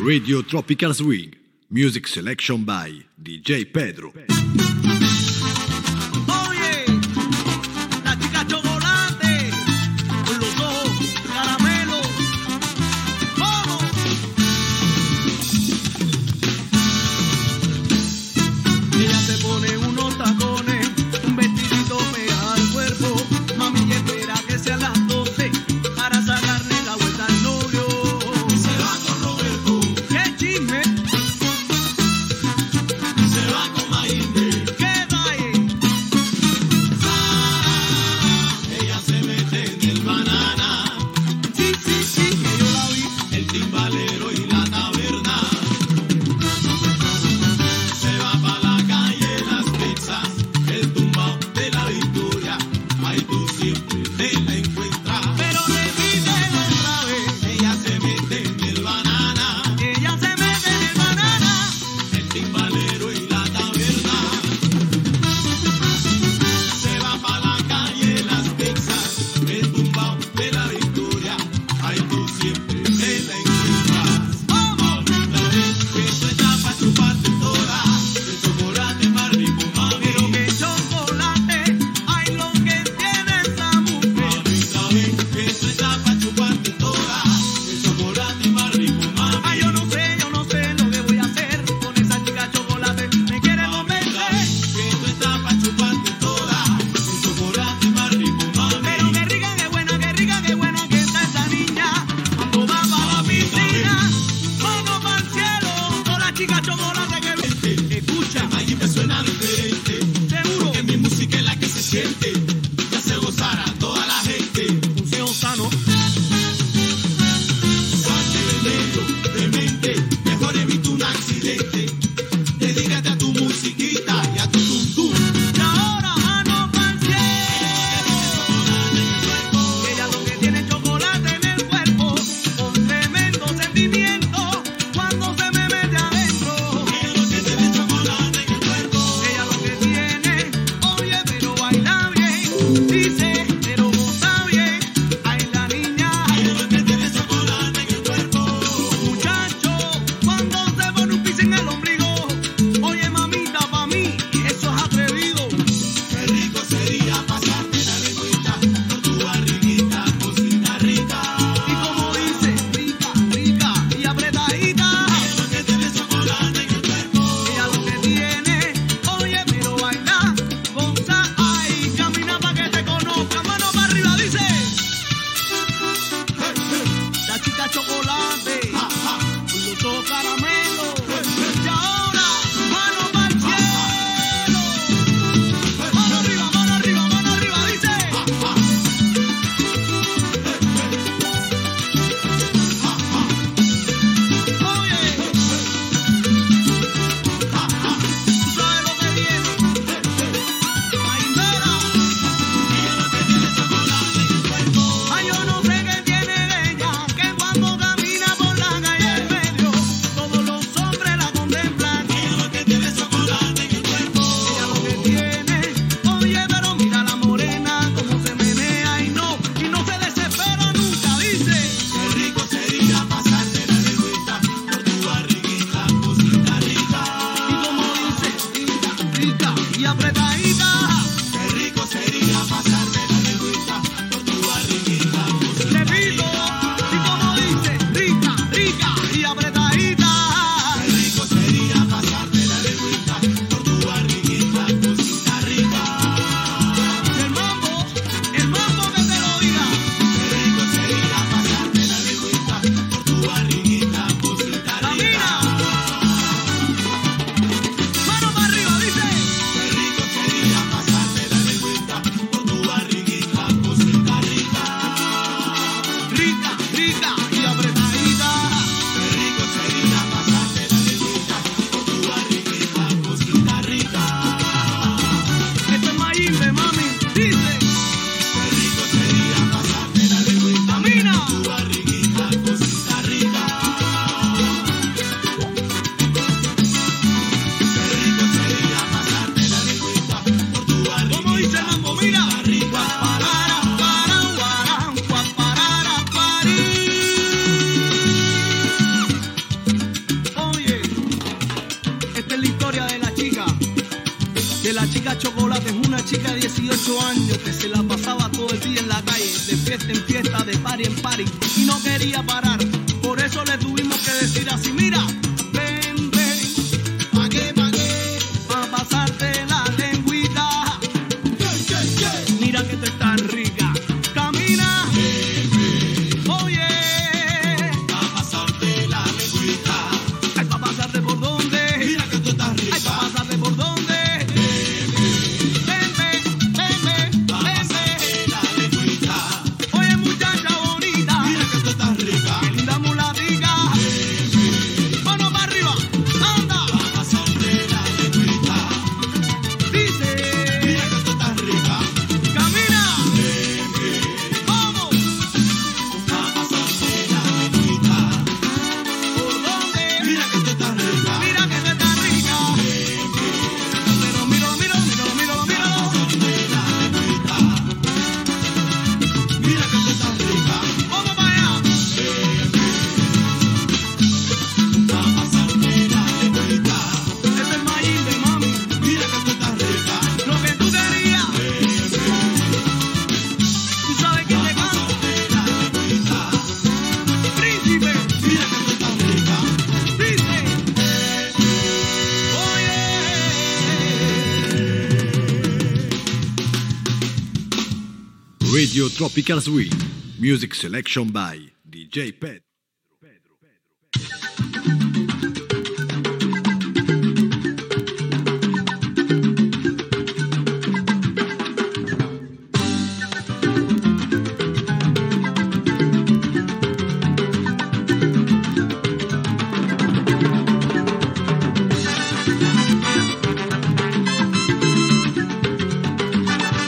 Radio Tropical Swing. Music selection by DJ Pedro. Oye, la chica chocolate, con los ojos caramelo. ¡Vamos! Ella se pone unos tacones, un vestidito pega al cuerpo. Mami espera que sean las 12 para sacarle la vuelta al novio. Se va con Roberto. ¡Qué chisme! Se va con Mainde. ¡Qué dae! Ella se mete en el banana. Sí, sí, sí, que yo la vi. El timbalero y la taberna. Se va pa' la calle Las Pizzas, el tumbao de la Victoria. Ahí tú siempre te la encuentras. Pero repítelo otra vez. Ella se mete en el banana. Ella se mete en el banana. El timbalero y la taberna. Se va pa' la calle Las Pizzas, el tumbao de la Victoria. Ahí tú siempre te la encuentras. ¡Vamos! Que eso está pa' chuparte toda. El chocolate más rico, mami. Pero que chocolate, ay, lo que tiene esa mujer. Mami, que eso está pa' chuparte toda. El chocolate más rico, mami. Ay, yo no sé lo que voy a hacer con esa chica chocolate. Me quiere convencer. Que eso está pa' chuparte toda. El chocolate más rico, mami. Pero qué rica, qué buena que está esa niña. Cuando va para la piscina, mano para el cielo. Con la chica chocolate que vente. Escucha, ahí me suena diferente. Seguro que mi música es la que se siente. Ya se gozará toda la gente. Museo sano. Suave, negro, demente. Mejor evita un accidente. Dedícate a tu musiquita y a tu tum tum. Y ahora mano para el cielo. Ella lo que tiene chocolate en el cuerpo, con tremendo sentimiento, cuando se me mete adentro. Ella lo que tiene chocolate en el cuerpo. Ella lo que tiene, oye, pero baila bien. Dice, pero goza bien. Ay, la niña. Ella lo que tiene chocolate en el cuerpo. Muchacho, cuando se pone un pis en el ombligo. Oye, mamita, pa' mí, eso es atrevido. Qué rico sería pasarte la lengüita por tu barriguita, cosita rica. Y como dice, rica, rica y apretadita. Ella lo que tiene chocolate en el cuerpo. Ella lo que tiene, oye, pero baila, goza, ay, camina pa' que te conozca. Mano para arriba, dice. La chica chocolate, con los ojos caramelo. Y ahora, mano para el cielo. Mano arriba, dice. Oye, tú sabes lo que viene. Maimera. Ay, yo no sé qué tiene ella, que cuando camina por la calle en medio, todo chica de 18 años que se la pasaba todo el día en la calle, de fiesta en fiesta, de party en party, y no quería parar. Por eso le tuvimos que decir así, mira, ven, ven, ¿pa' qué, pa' qué? Pa' pasarte la lengüita. Mira que tú estás rica. Camina. Oye. Pa' pasarte la lengüita. Ay, pa' pasarte por dónde. Mira que tú estás rica. Ay, pa' pasarte por dónde. Ven, ven, ven, ven, pa' pasarte la lengüita. Oye, muchacha bonita. Mira que tú estás rica. Qué linda mulatica. Mano para arriba. Anda. Pa' pasarte la lengüita. Dice. Mira que tú estás rica. Camina. Vamos. Pa' pasarte la lengüita. ¿Por dónde? Mira que tú estás rica. Mira que tú estás rica. Pero míralo, míralo, míralo, míralo, míralo. Mira que tú estás rica. Vamos para allá. Pa' pasarte la lengüita. Ese es Mayimbe, mami. Mira que tú estás rica. Lo que tú querías. ¿Tú sabes quién te canta? Príncipe. Mira que tú estás rica. Dice. Oye. Radio Tropical Swing. Music selection by DJ Pedro.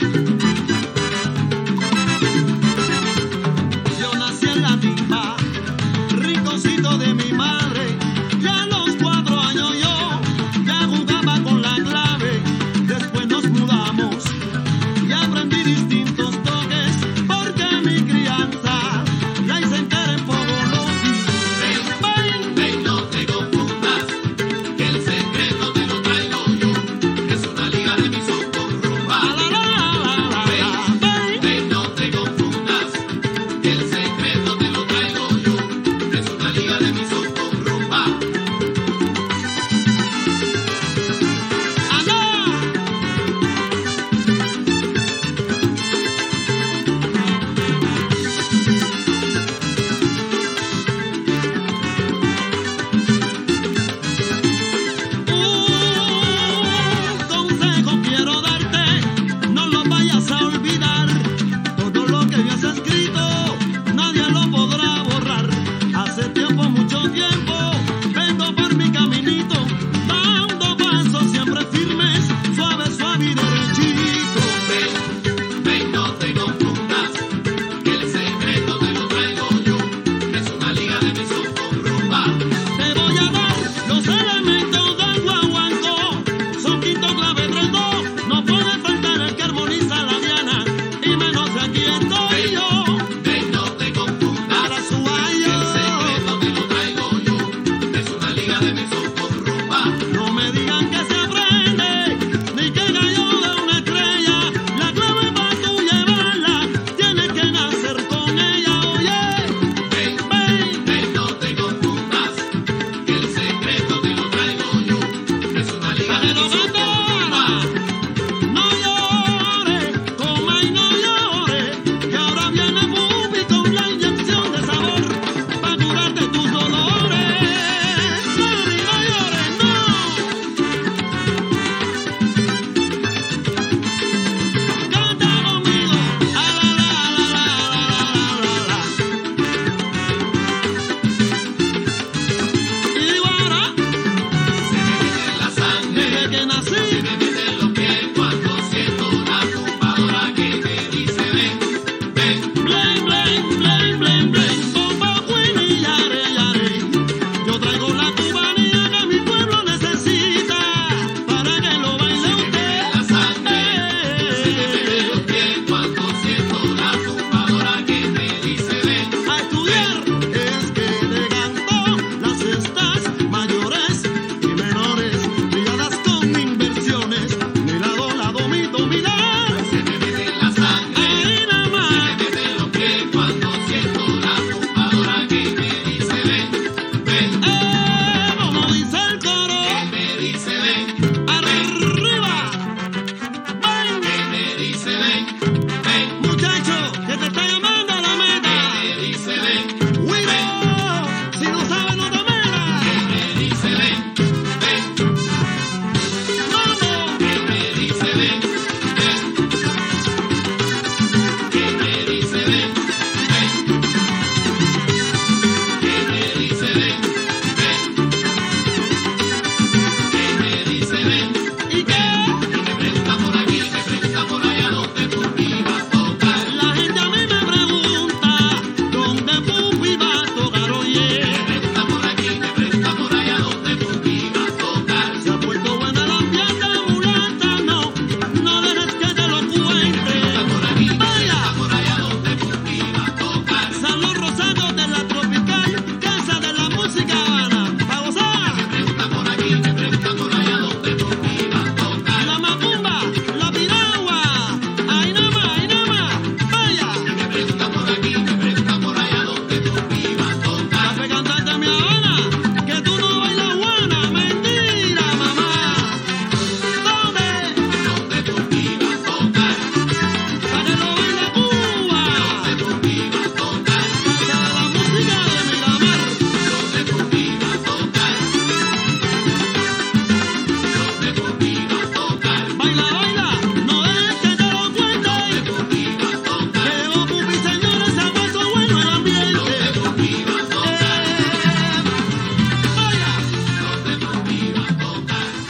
Yo nací en la timba,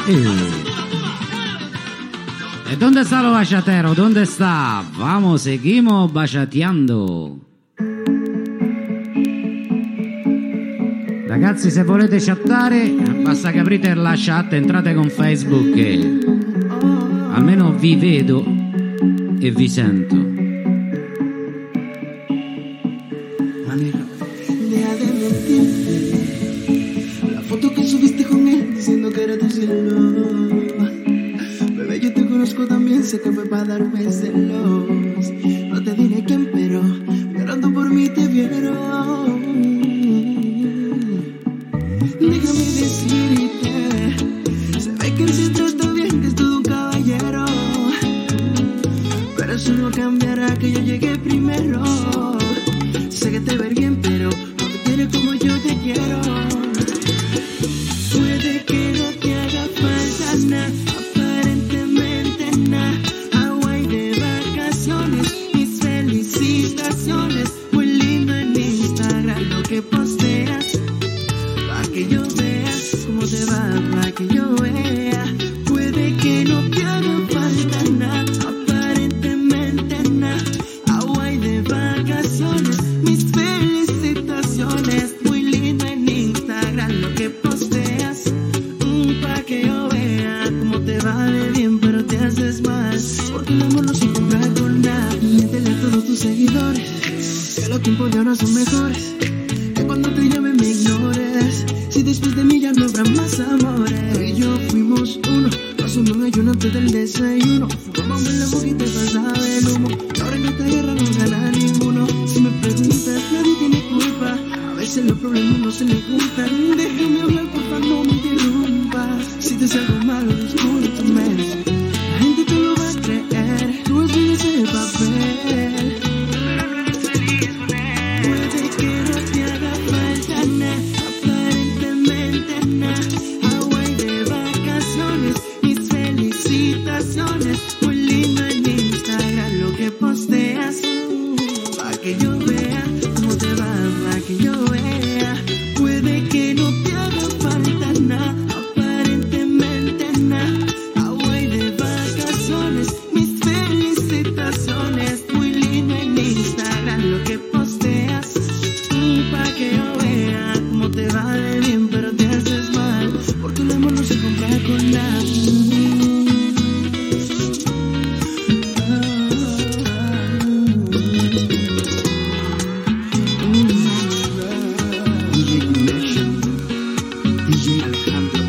¿Y dónde está lo bachatero? ¿Dónde está? Vamos, seguimos baciateando. Ragazzi, se volete chattare, basta che aprite la chat, entrate con Facebook e almeno vi vedo e vi sento. Deja de mentirte. La foto que subiste con él diciendo que era tu cielo. Bebé, yo te conozco también, sé que fue para darme celos. No te diré quién, pero llorando por mí te vieron. Déjame decirte, se ve que él se trata bien, que es todo un caballero. Pero eso no cambiará que yo llegué primero. Sé que te ve bien, pero no te quiere como yo te quiero. Puede que no te haga falta nada, aparentemente nada. Hawaii de vacaciones, mis felicitaciones. Muy lindo en Instagram lo que posteas, pa' que yo vea cómo te va, pa' que yo vea. Puede que no te haga falta nada, aparentemente nada. Hawaii de vacaciones, mis felicitaciones. Muy lindo en Instagram lo que posteas, pa' que yo vea cómo te va de bien, pero te haces mal. Porque el amor no se compra con nada. Miéntele a todos tus seguidores que los tiempos de ahora son mejores. Que cuando te llame me ignores. Si después de mí ya no habrá más amores. Tú y yo fuimos uno, pasó un ayuno antes del desayuno. Fumamos en la boca y te pasaba el humo. Y ahora en esta guerra no gana ninguno. Si me preguntas, nadie tiene culpa. A veces los problemas no se le juntan. Déjame hablar, porfa, no me interrumpas. Si te salgo malo, discúlpame. La gente te lo va a creer. Tú eres ese papel. Puede que no te haga falta nada, aparentemente nada. Hawaii de vacaciones, mis felicitaciones. Muy lindo en Instagram lo que posteas, pa' que yo vea cómo te va, pa' que yo vea. Puede que no te haga falta nada, aparentemente nada. Hawaii de vacaciones, mis felicitaciones. Muy lindo en Instagram lo que posteas, pa' que yo vea cómo te va de bien, pero te haces mal. Porque el amor no se compra con nada. DJ Connection, DJ Alejandro.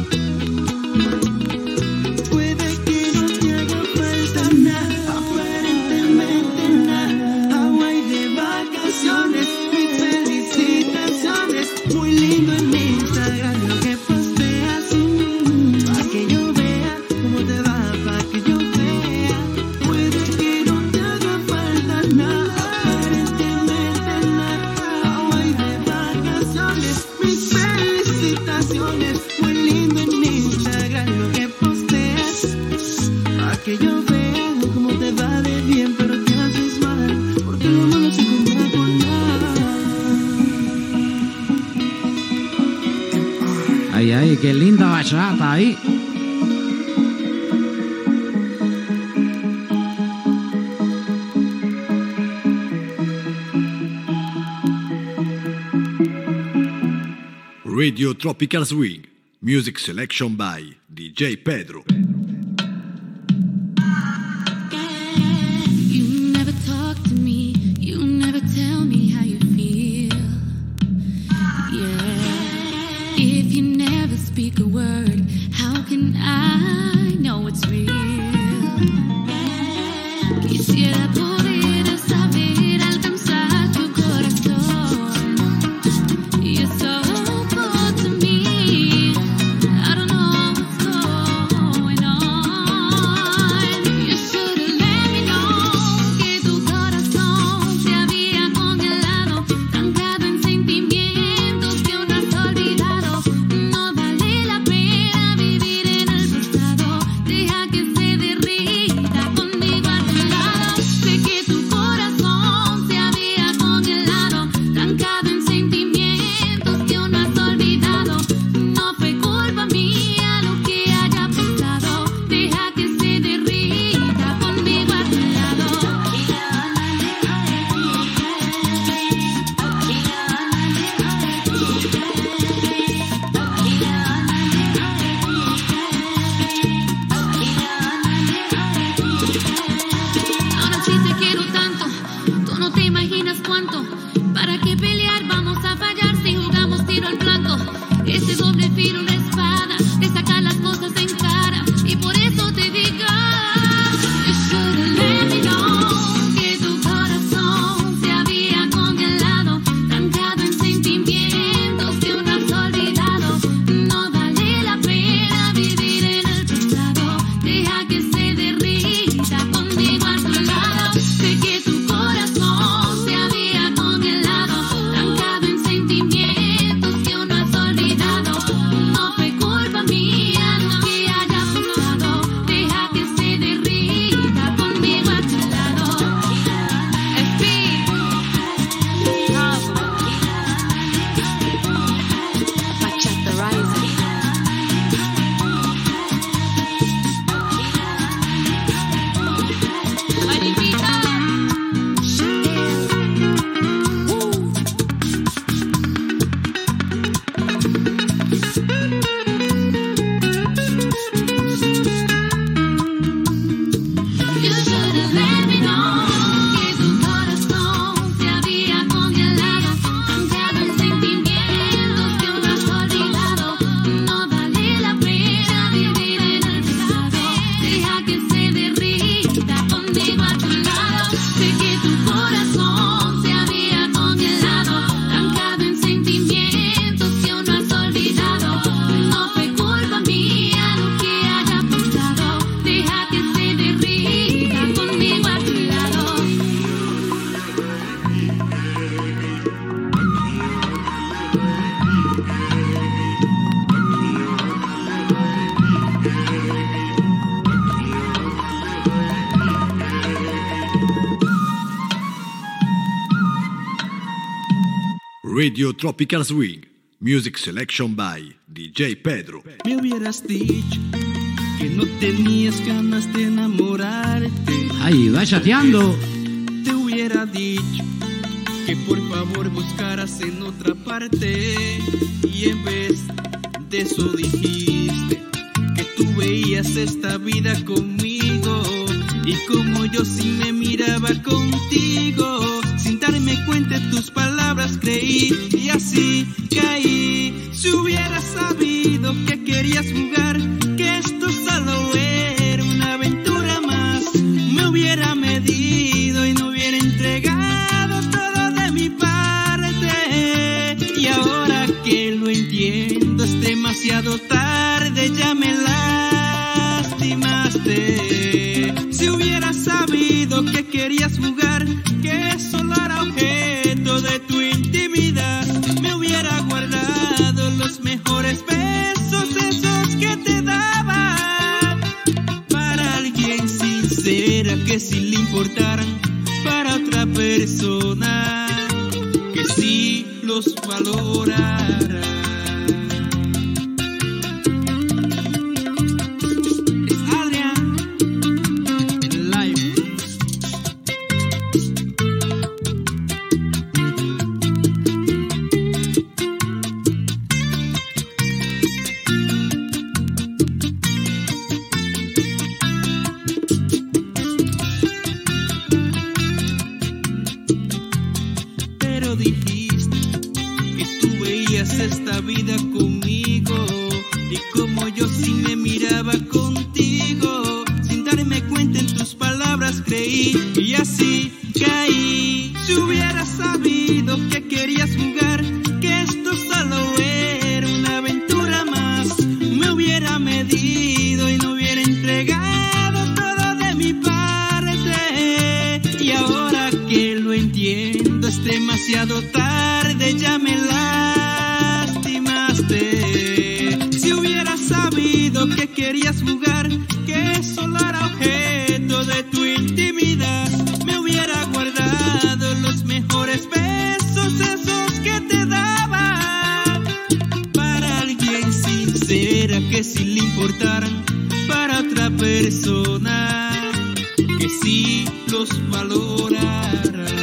Puede que no te haga falta nada, aparentemente nada. Hawaii de vacaciones, mis felicitaciones. Muy lindo en Instagram lo que posteas, pa' que yo vea cómo te va, pa' que yo vea. Puede que no te haga falta nada, aparentemente nada. Hawaii de vacaciones, mis felicitaciones. Muy lindo en Instagram lo que posteas, pa' que yo vea cómo te va de bien, pero te haces mal. Porque lo malo se compra con nada. Ay, ay, qué linda bachata ahí. Radio Tropical Swing. Music selection by DJ Pedro. You never talk to me, you never tell me how you feel. Yeah, if you never speak a word, how can I know it's real? Quisiera poder saber alcanzar tu corazón. You're so cold to me. I don't know what's going on. Radio Tropical Swing, music selection by DJ Pedro. Me hubieras dicho que no tenías ganas de enamorarte. Ay, va chateando. Te hubiera dicho que por favor buscaras en otra parte. Y en vez de eso dijiste que tú veías esta vida conmigo. Y como yo sí me miraba contigo, sin darme cuenta de tus palabras creí y así caí. Si hubieras sabido que querías jugar, que esto solo era una aventura más, me hubiera medido y no hubiera entregado todo de mi parte. Y ahora que lo entiendo es demasiado tarde, ya me lastimaste. Si hubieras sabido que querías jugar, que solo era objeto de tu intimidad, me hubiera guardado los mejores besos, esos que te daba, para alguien sincera que sí le importaran, para otra persona que sí los valorara. Esta vida conmigo y como yo sí me miraba contigo, sin darme cuenta en tus palabras creí y así caí. Si hubieras sabido que querías jugar, que esto solo era una aventura más, me hubiera medido y no hubiera entregado todo de mi parte. Y ahora que lo entiendo es demasiado tarde, ya me si hubieras sabido que querías jugar, que solo era objeto de tu intimidad, me hubiera guardado los mejores besos, esos que te daba, para alguien sincera que sí le importaran, para otra persona que sí los valorara.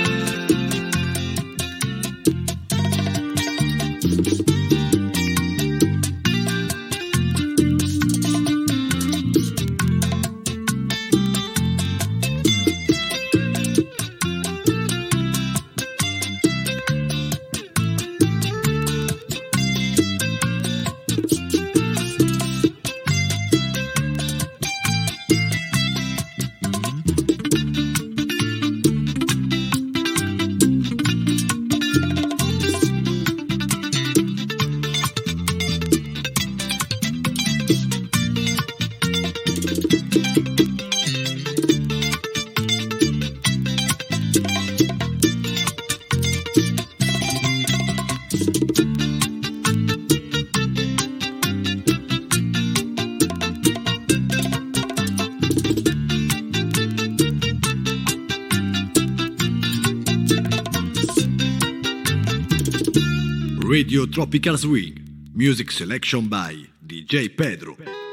Radio Tropical Swing, music selection by DJ Pedro.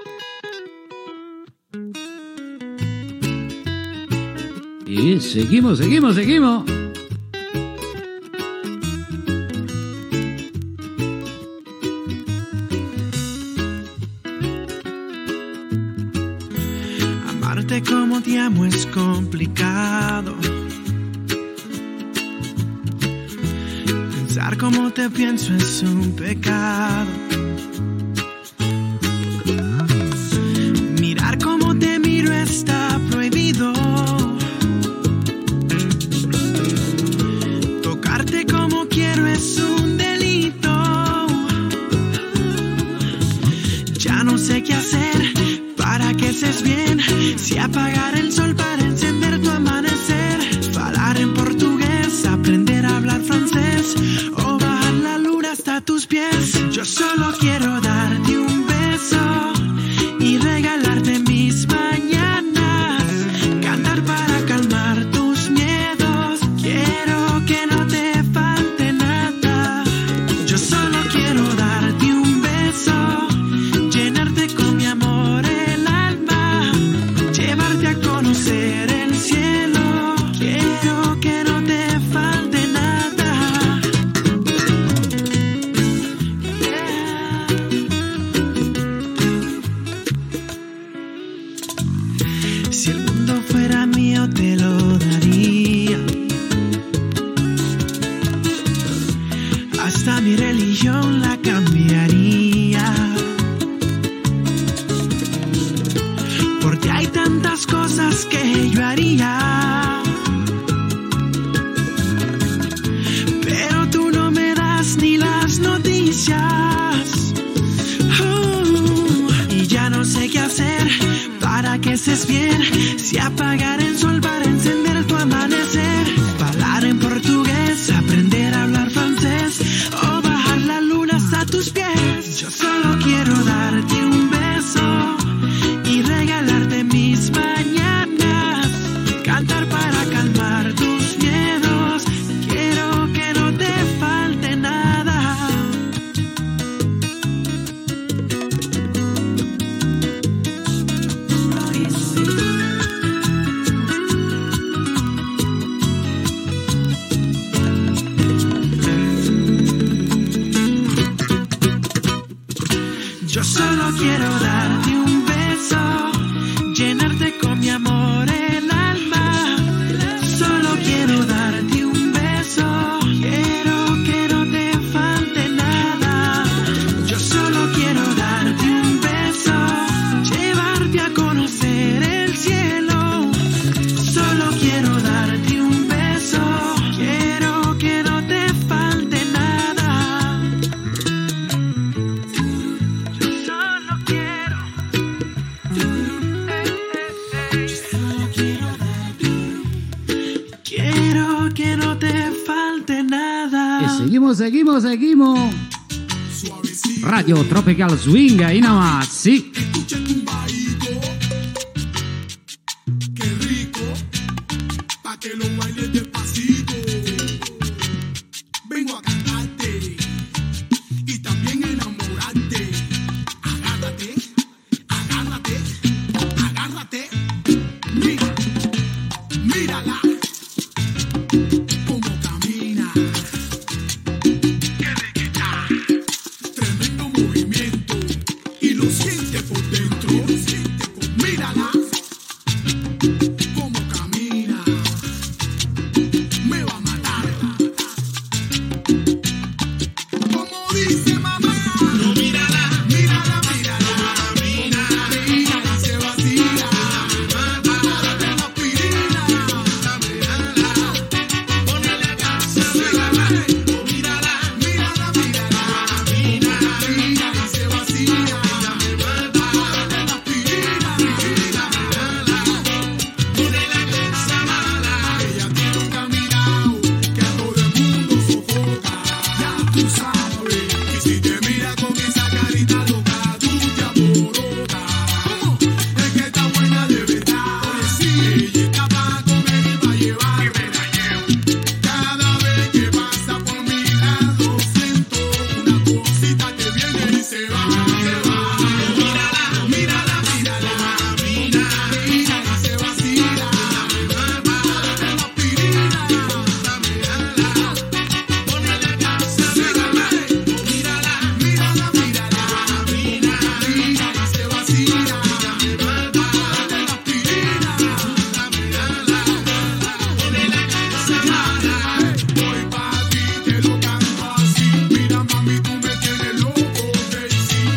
Y seguimos. Amarte como te amo es complicado. Pensar como te pienso es un pecado. Mirar como te miro está prohibido. Tocarte como quiero es un delito. Ya no sé qué hacer para que estés bien. Si apagar el sol para encender tu amanecer. Falar en portugués, aprender a hablar francés. O bajar la luna hasta tus pies. Yo solo quiero darte un beso y regalarte mis mañanas. Cantar para calmar tus miedos. Quiero que no te falte nada. amanheces bien, si apagar el sol para encender tu amanecer, hablar en portugués, aprender a hablar francés o bajar la luna hasta tus pies. Yo solo quiero darte un beso y regalarte mis mañanas, cantar para calmar tus miedos, quiero que no te falte nada. Yo solo quiero darte un beso, llenarte con mi amor el alma. Solo quiero darte un beso, quiero que no te falte nada. Yo solo quiero darte un beso, llevarte a conocer el cielo. Solo quiero darte un beso, quiero que no te falte nada. Yo solo quiero, quiero que no te falte nada. E seguimos. Radio Tropical Swing ahí nomás, sí. Qué rico, pa' que lo bailes despacito. Vengo a cantarte y también enamorarte. Agárrate, agárrate, agárrate. Mira, mírala, cómo camina. Qué riquita, tremendo movimiento y lo siente por dentro. Mírala, cómo camina, me va a matar. Como dice mamá, no, mírala, mírala, mírala, mírala, mírala, y se vacila. Dale la aspirina, mírala, ponele a casa, mírala, mírala, mírala, mírala, mírala, y se vacila. Dale la aspirina, mírala, ponele a casa mala. Ella tiene un caminado que a todo el mundo sofoca. Ya tú sabes, y si te mira con esa carita loca, tú te alborotas. Es que está buena de verdad. Oye, sí, ella está para comer y para llevar. Y me la llevo. Cada vez que pasa por mi lado, siento una cosita que viene y se va, se va. Mírala, mírala, mírala, mírala, mírala, y se vacila. Dale la aspirina, mírala, ponele a casa, mírala, mírala, mírala, mírala, mírala, y se vacila. Dale la aspirina, mírala, ponele a casa mala. Voy pa' ti, te lo canto así. Mira, mami, tú me tienes loco, Daisy.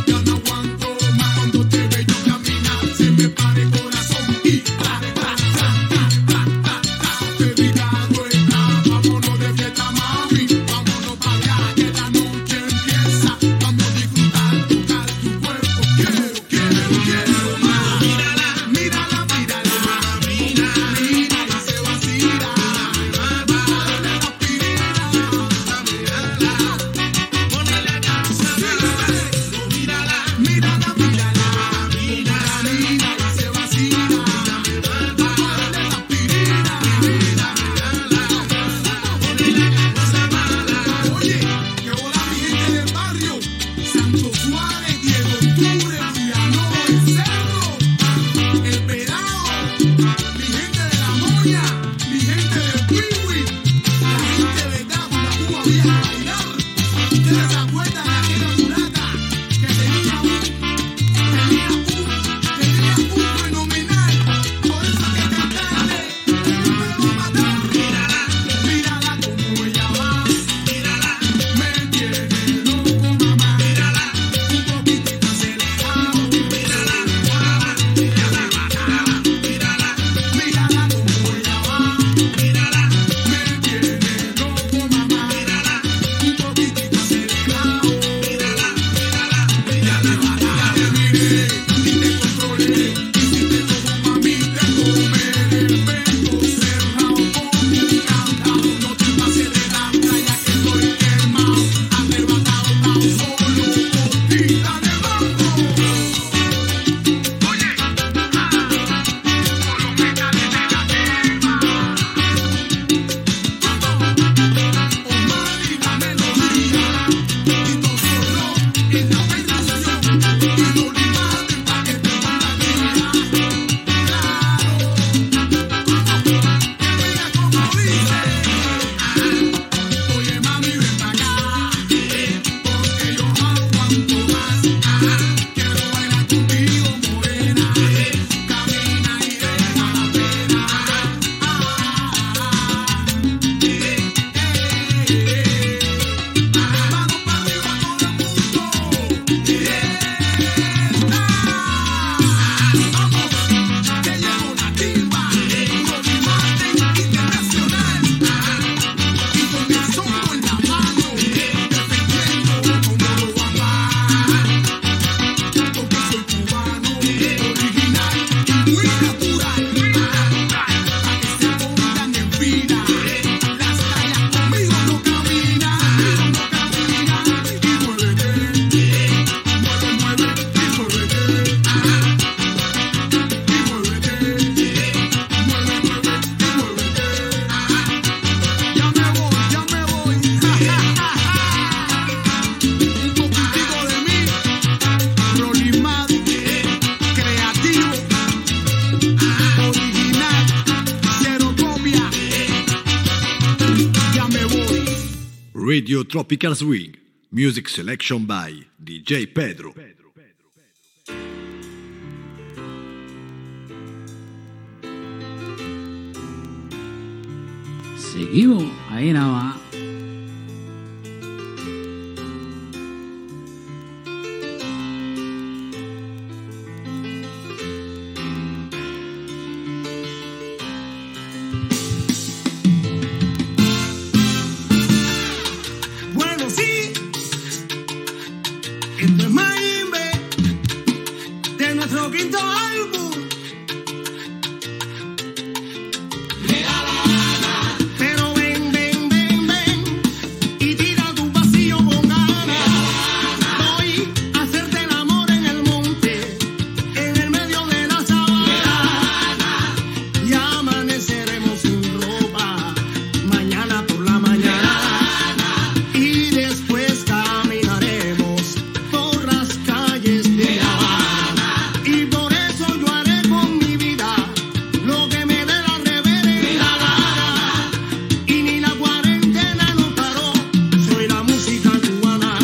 Radio Tropical Swing. Music selection by DJ Pedro. Seguimos ahí nada más. Bueno, sí, esto es Maimbe de nuestro quinto álbum. Pero ven, ven, ven, ven y tira tu vacío con ganas. Voy a hacerte el amor en el monte, en el medio de la sabana. Y amaneceremos sin ropa mañana por la mañana. Y después caminaremos por las calles de La Habana. Y por eso yo haré con mi vida lo que me dé la reverenda gana. Y ni la cuarentena nos paró, soy la música cubana.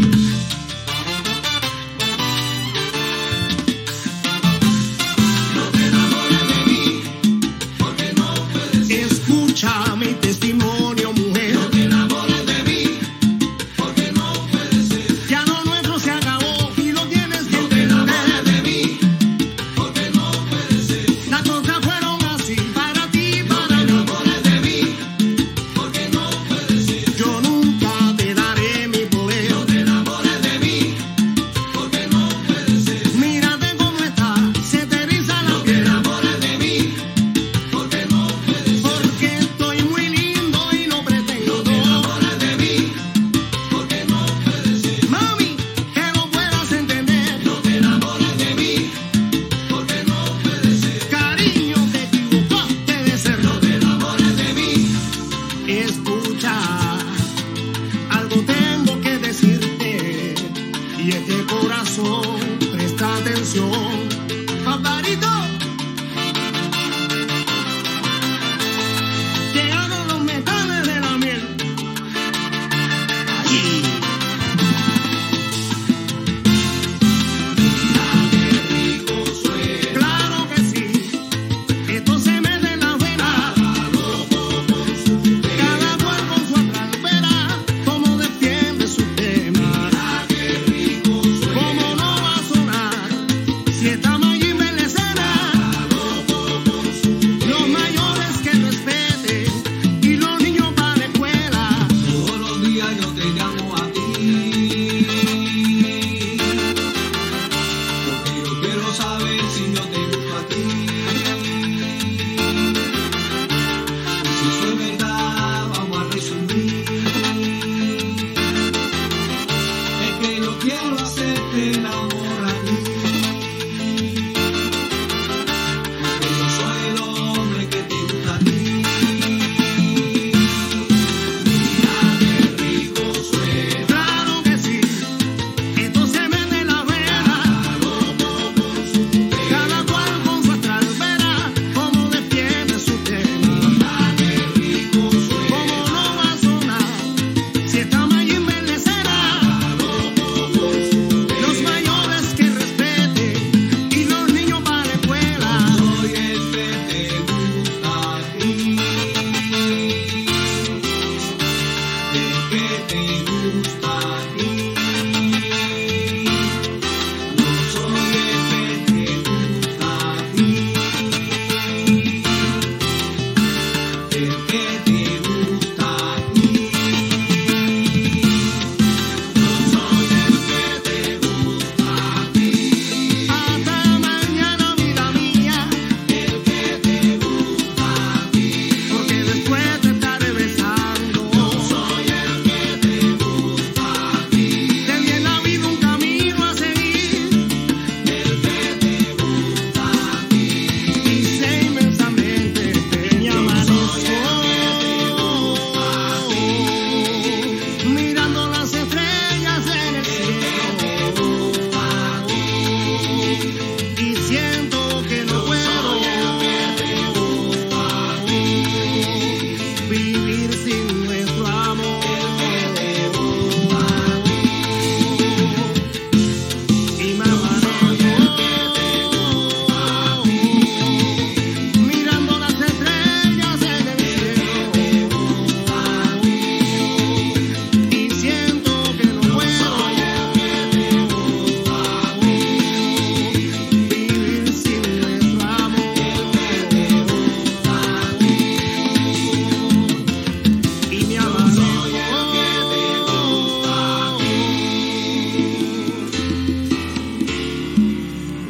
No te enamores de mí, porque no puedes. Escucha mi testimonio, mujer. No te enamores de mí, porque no puede ser. Ya lo nuestro se acabó y lo tienes que entender. No te enamores de mí, porque no puede ser. Las cosas fueron así para ti, para mí. No te enamores de mí, porque no puede ser. Yo nunca te daré mi poder. No te enamores de mí, porque no puede ser. Mírate cómo está, se te eriza la piel. No te enamores de mí, porque no puede ser. Porque estoy muy lindo y no pretendo. No te enamores de mí, porque no puede ser. Mami, que lo puedas entender. No te enamores de mí, porque no puede ser. Cariño, te equivocaste de ser. No te enamores de mí. Escucha, algo tengo que decirte. Y este corazón, presta atención. Paparito, llegaron los metales de la miel. Allí. Claro que sí, esto se mete en la vena. Cada cual con su atralpera, como defiende su tema. Como no va a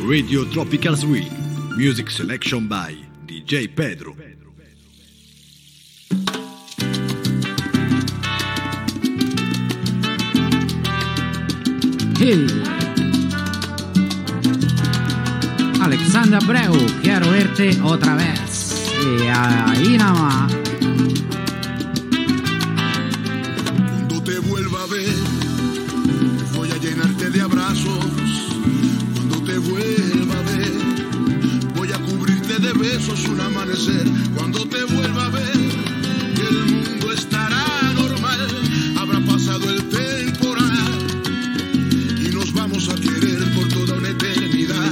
Radio Tropical Swing. Music selection by DJ Pedro. Hey. Alexander Abreu, quiero verte otra vez. Y ahí nada más. Cuando te vuelva a ver, voy a llenarte de abrazos. Cuando te vuelva a ver, voy a cubrirte de besos un amanecer. Cuando te vuelva a ver, el mundo estará normal. Habrá pasado el temporal y nos vamos a querer por toda una eternidad.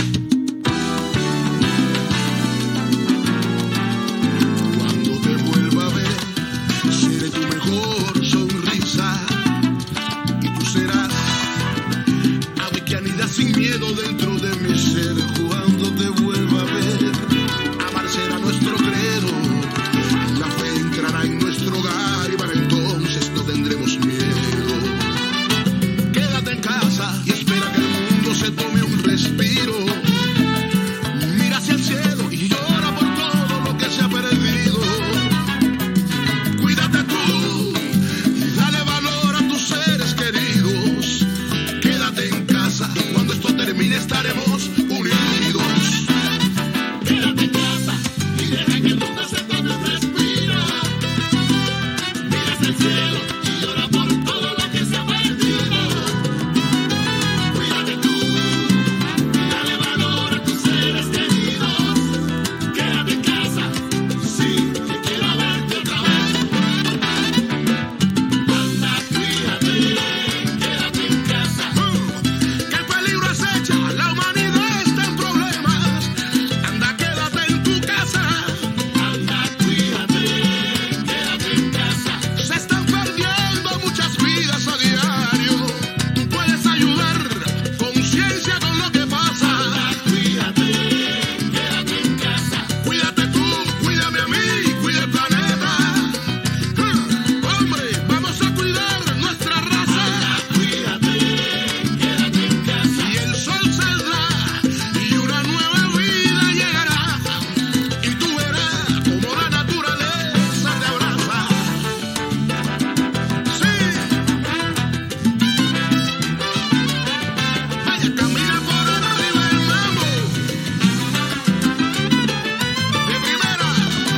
Cuando te vuelva a ver, seré tu mejor sonrisa y tú serás ave que anida sin miedo dentro de mi ser. Cuando te vuelva a ver, amar será nuestro credo, la fe entrará en nuestro hogar y para entonces no tendremos miedo. Quédate en casa y espera que el mundo se tome un respiro. Mira hacia el cielo y llora por todo lo que se ha perdido. Cuídate tú y dale valor a tus seres queridos. Quédate en casa y cuando esto termine estaremos unidos. Quédate en casa y deja que el mundo se tome un respiro. Mira hacia el cielo y llora por todo lo que se ha perdido. Cuídate tú y dale valor a tus seres queridos. Quédate en casa, sí, que quiero verte otra vez. Anda, cuídate, quédate en casa. Que el peligro acecha, la humanidad está en problemas. Anda, quédate en tu casa. Anda, cuídate, quédate en casa. Se están perdiendo muchas vidas a diario. Tú puedes ayudar, conciencia con lo que pasa. Anda, cuídate, quédate en casa. Cuídate tú, cuídame a mí, cuida el planeta. Hombre, vamos a cuidar nuestra raza. Anda, cuídate, quédate en casa. Y el sol saldrá y una nueva vida llegará. Y tú verás como la naturaleza te abraza. Sí. Vaya, camina por arriba el mambo. De primera.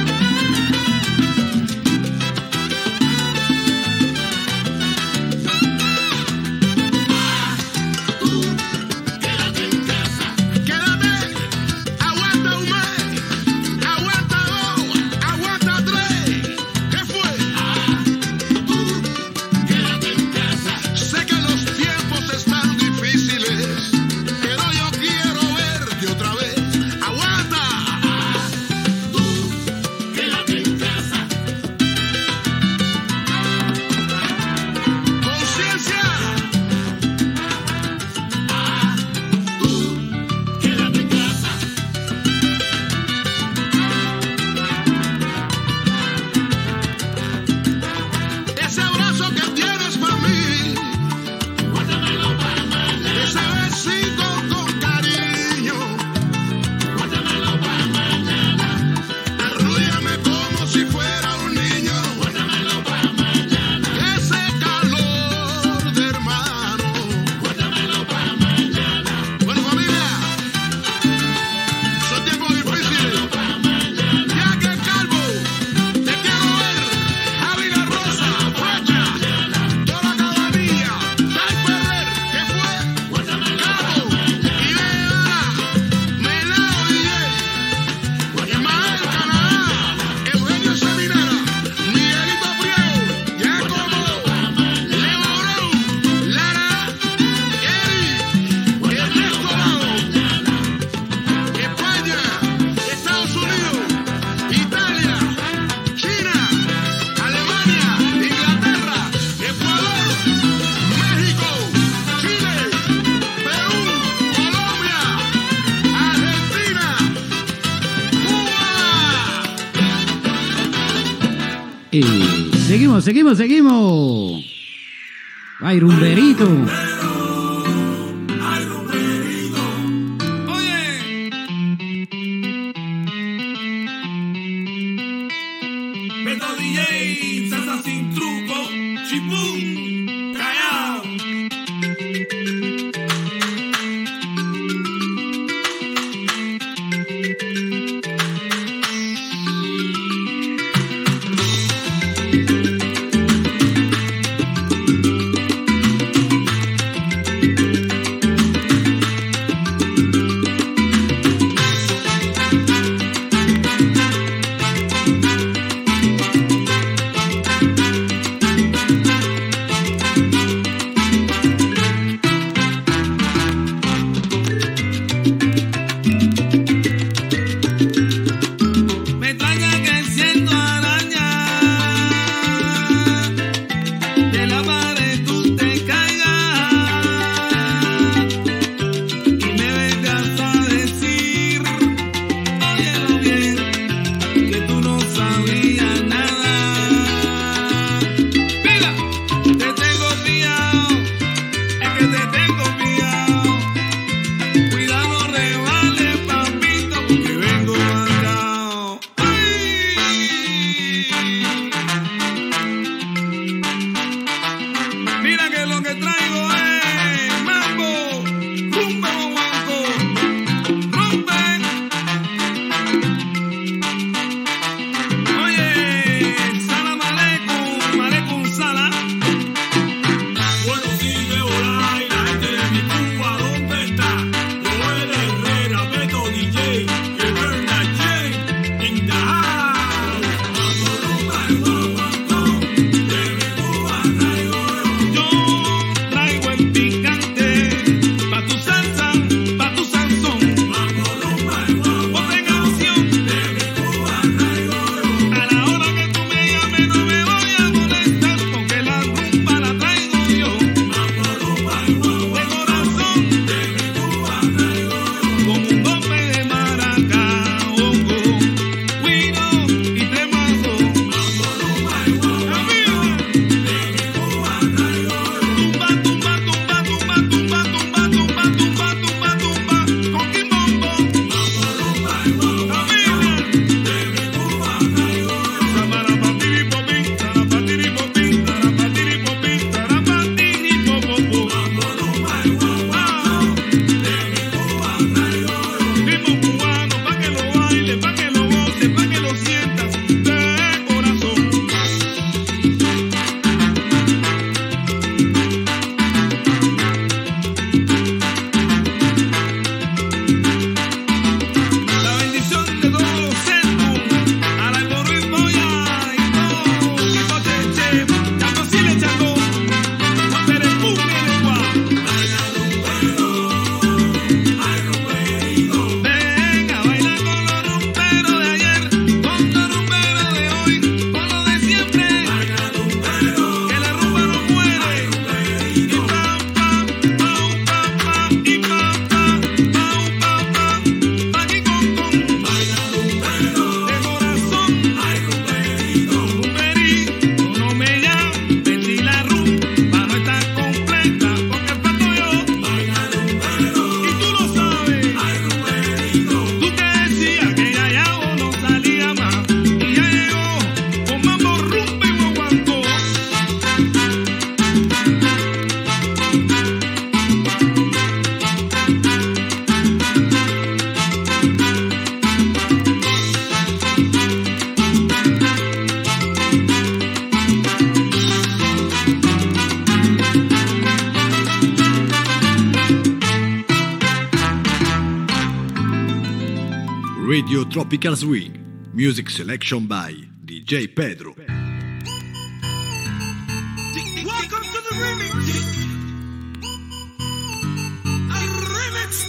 Tú, quédate en casa. Quédate, aguanta un mes, aguanta dos, aguanta tres. ¿Qué fue? Tú, quédate en casa. Sé que los tiempos están difíciles, pero yo quiero verte otra vez. Aguanta. Tú, quédate en casa. Conciencia. Tú, quédate en casa. Ese abrazo que tienes para mí, guárdamelo para mañana. Ese besito con cariño, guárdamelo para mañana. Arrúllame como si fuera un niño, guárdamelo para mañana. Ese calor de hermano, guárdamelo para mañana. Bueno, familia, son tiempos difíciles. Ya que Calvo, te quiero ver. Javi La Rosa, Facha, toda la cabanilla, Tai Ferrer, ¿qué fue? Cabo, Idea, Melao DJ, Ismael Canadá, Eugenio Seminara, Miguelito Priego, Giacomo, Leo Brown, Lara, Eri, Ernesto Lado, España, Estados Unidos, Italia, China, Alemania, Inglaterra, Ecuador, México, Chile, Perú, Colombia, Argentina, Cuba. Y seguimos. Ay, rumberito. Radio Tropical Swing. Music selection by DJ Pedro. Welcome to the remix. A remix.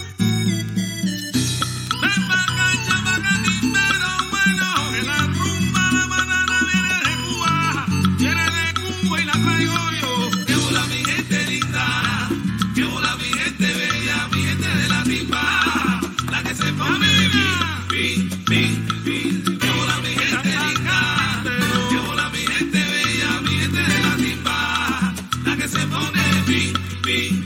Ven para acá, pero bueno, que la rumba la banana viene de Cuba. Viene de Cuba y la traigo yo. Que hola mi gente linda, que hola mi gente bella, mi gente de la timba, la que se pone pin, pin, pin. Que hola mi gente linda, que hola mi gente bella, mi gente de la timba, la que se pone pin, pin.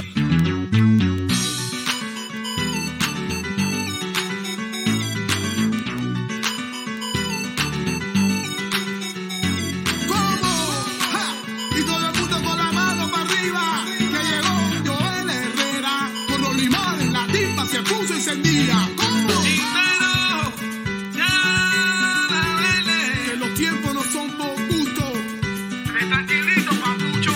Y todo el mundo con la mano para arriba, que llegó Joel Herrera, con los limones, la timba se puso encendida. ¿Cómo? Que los tiempos no son por gusto. Tranquilito, papucho.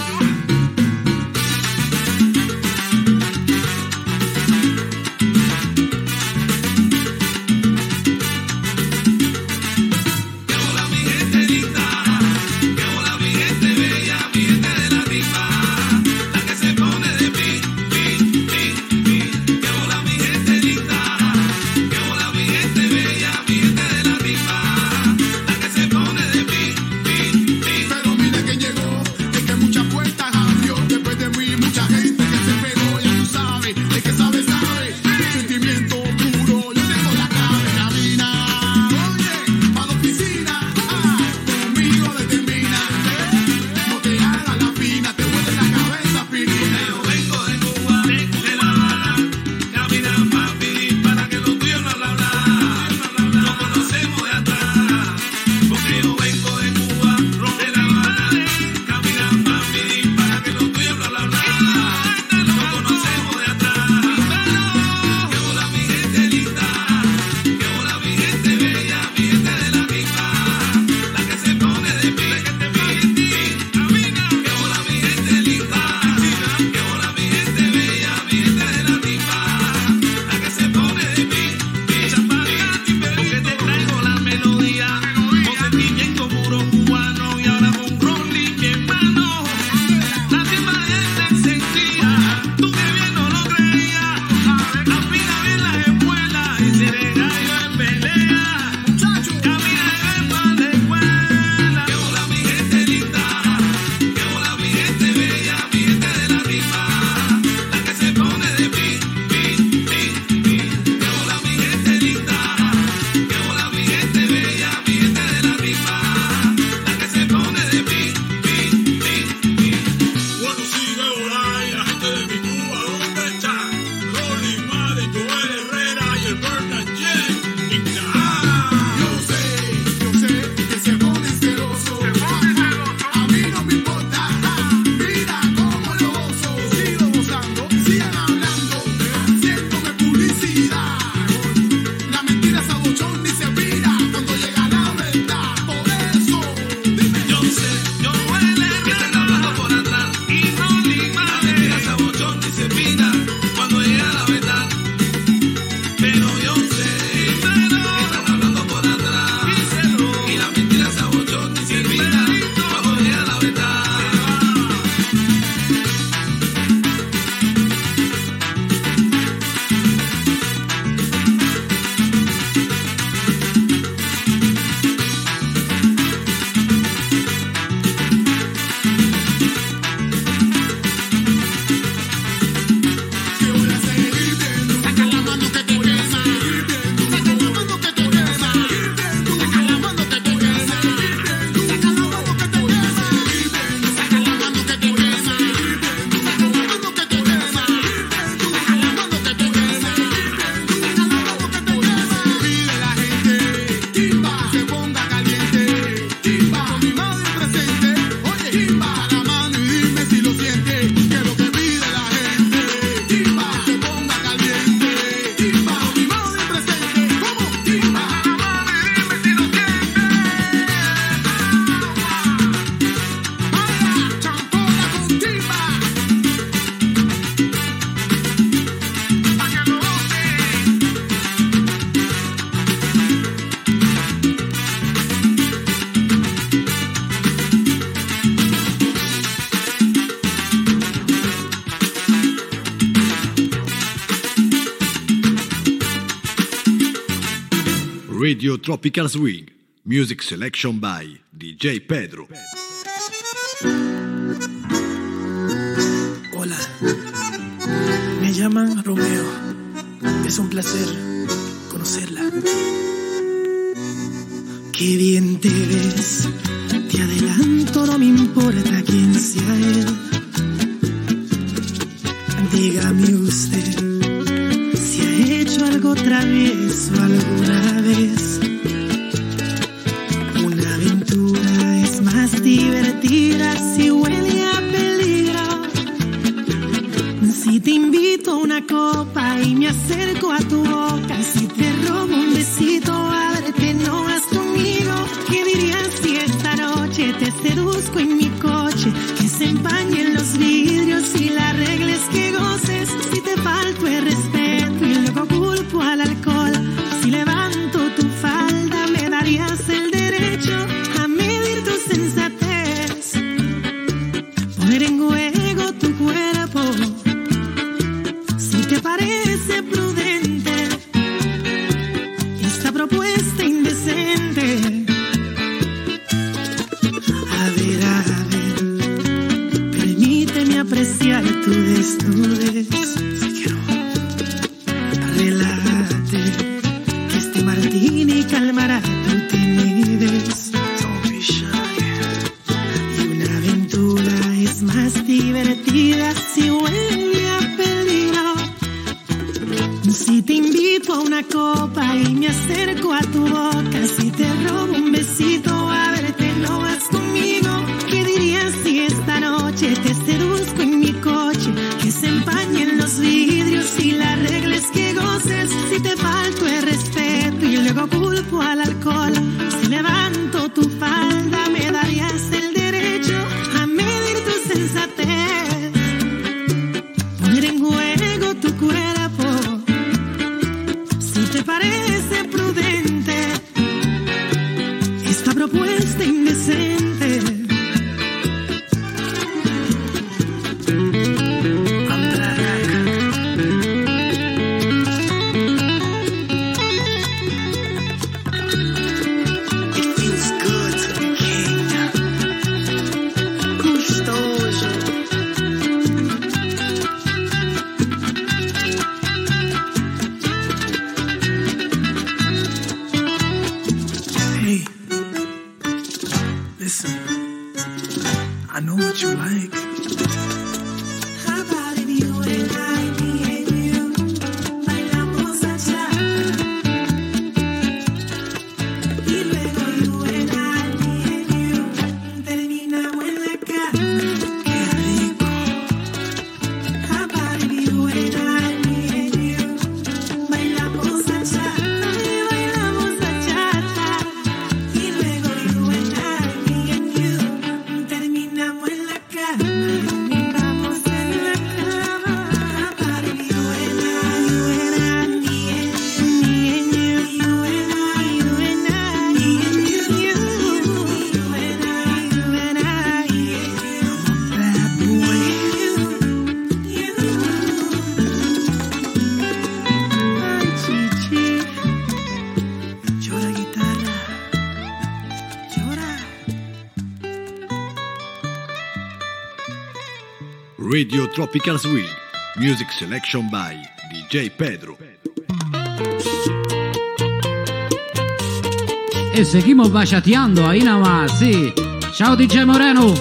Que hola mi gente linda, que hola mi gente bella, mi gente de la timba, la que se pone de pin, pin, pin, pin. Que hola mi gente linda, Radio Tropical Swing, music selection by DJ Pedro. Hola, me llaman Romeo. Es un placer conocerla. Qué bien te ves, te adelanto, no me importa quién sea él. Dígame usted si ha hecho algo travieso alguna vez. Una aventura es más divertida si huele a peligro. Si te invito a una copa y me acerco a tu boca, si te robo un besito, ábrete, no vas conmigo. ¿Qué dirías si esta noche te seduzco en mi coche? Que se empañen los vidrios y la regla es que goces. Si te falto el respeto y luego culpo al alcohol, si levanto tu falda me darías el derecho a medir tu sensatez, poner en juego tu cuerpo. Si te parece prudente esta propuesta indecente, a ver, permíteme apreciar tu desnudez. Si quiero, relájate, que este martini calmará tu timidez. Don't be shy. Y una aventura es más divertida si huele a peligro. Si te invito a una copa y me acerco a tu boca, si te robo un besito, a verte, no vas conmigo. ¿Qué dirías si esta noche te seduzco en mi coche? Que se empañen los vidrios y la regla es que goces. Si te falto el respeto y luego culpo al alcohol, si levanto tu falda me darías el derecho a medir tu sensatez, poner en juego tu cuerpo. Si te parece prudente esta propuesta indecente, it feels good to be king. Gustoso. Hey, listen, I know what you like. How about if you and I, me and you, bailamos bachata? Y luego you and I, me and you, terminamos en la cama. Qué rico. How about if you and I, me and you, bailamos bachata? Y bailamos bachata. Y luego you and I, me and you, terminamos en la cama. Terminamos en la cama. How about if you and I, me and you, you and I, me and you, you and I, I'm a bad boy. Ay, chichi, llora guitarra, llora. Radio Tropical Swing, music selection by DJ Pedro. E seguimos bachateando ahí nada más, sí. Ciao DJ Moreno.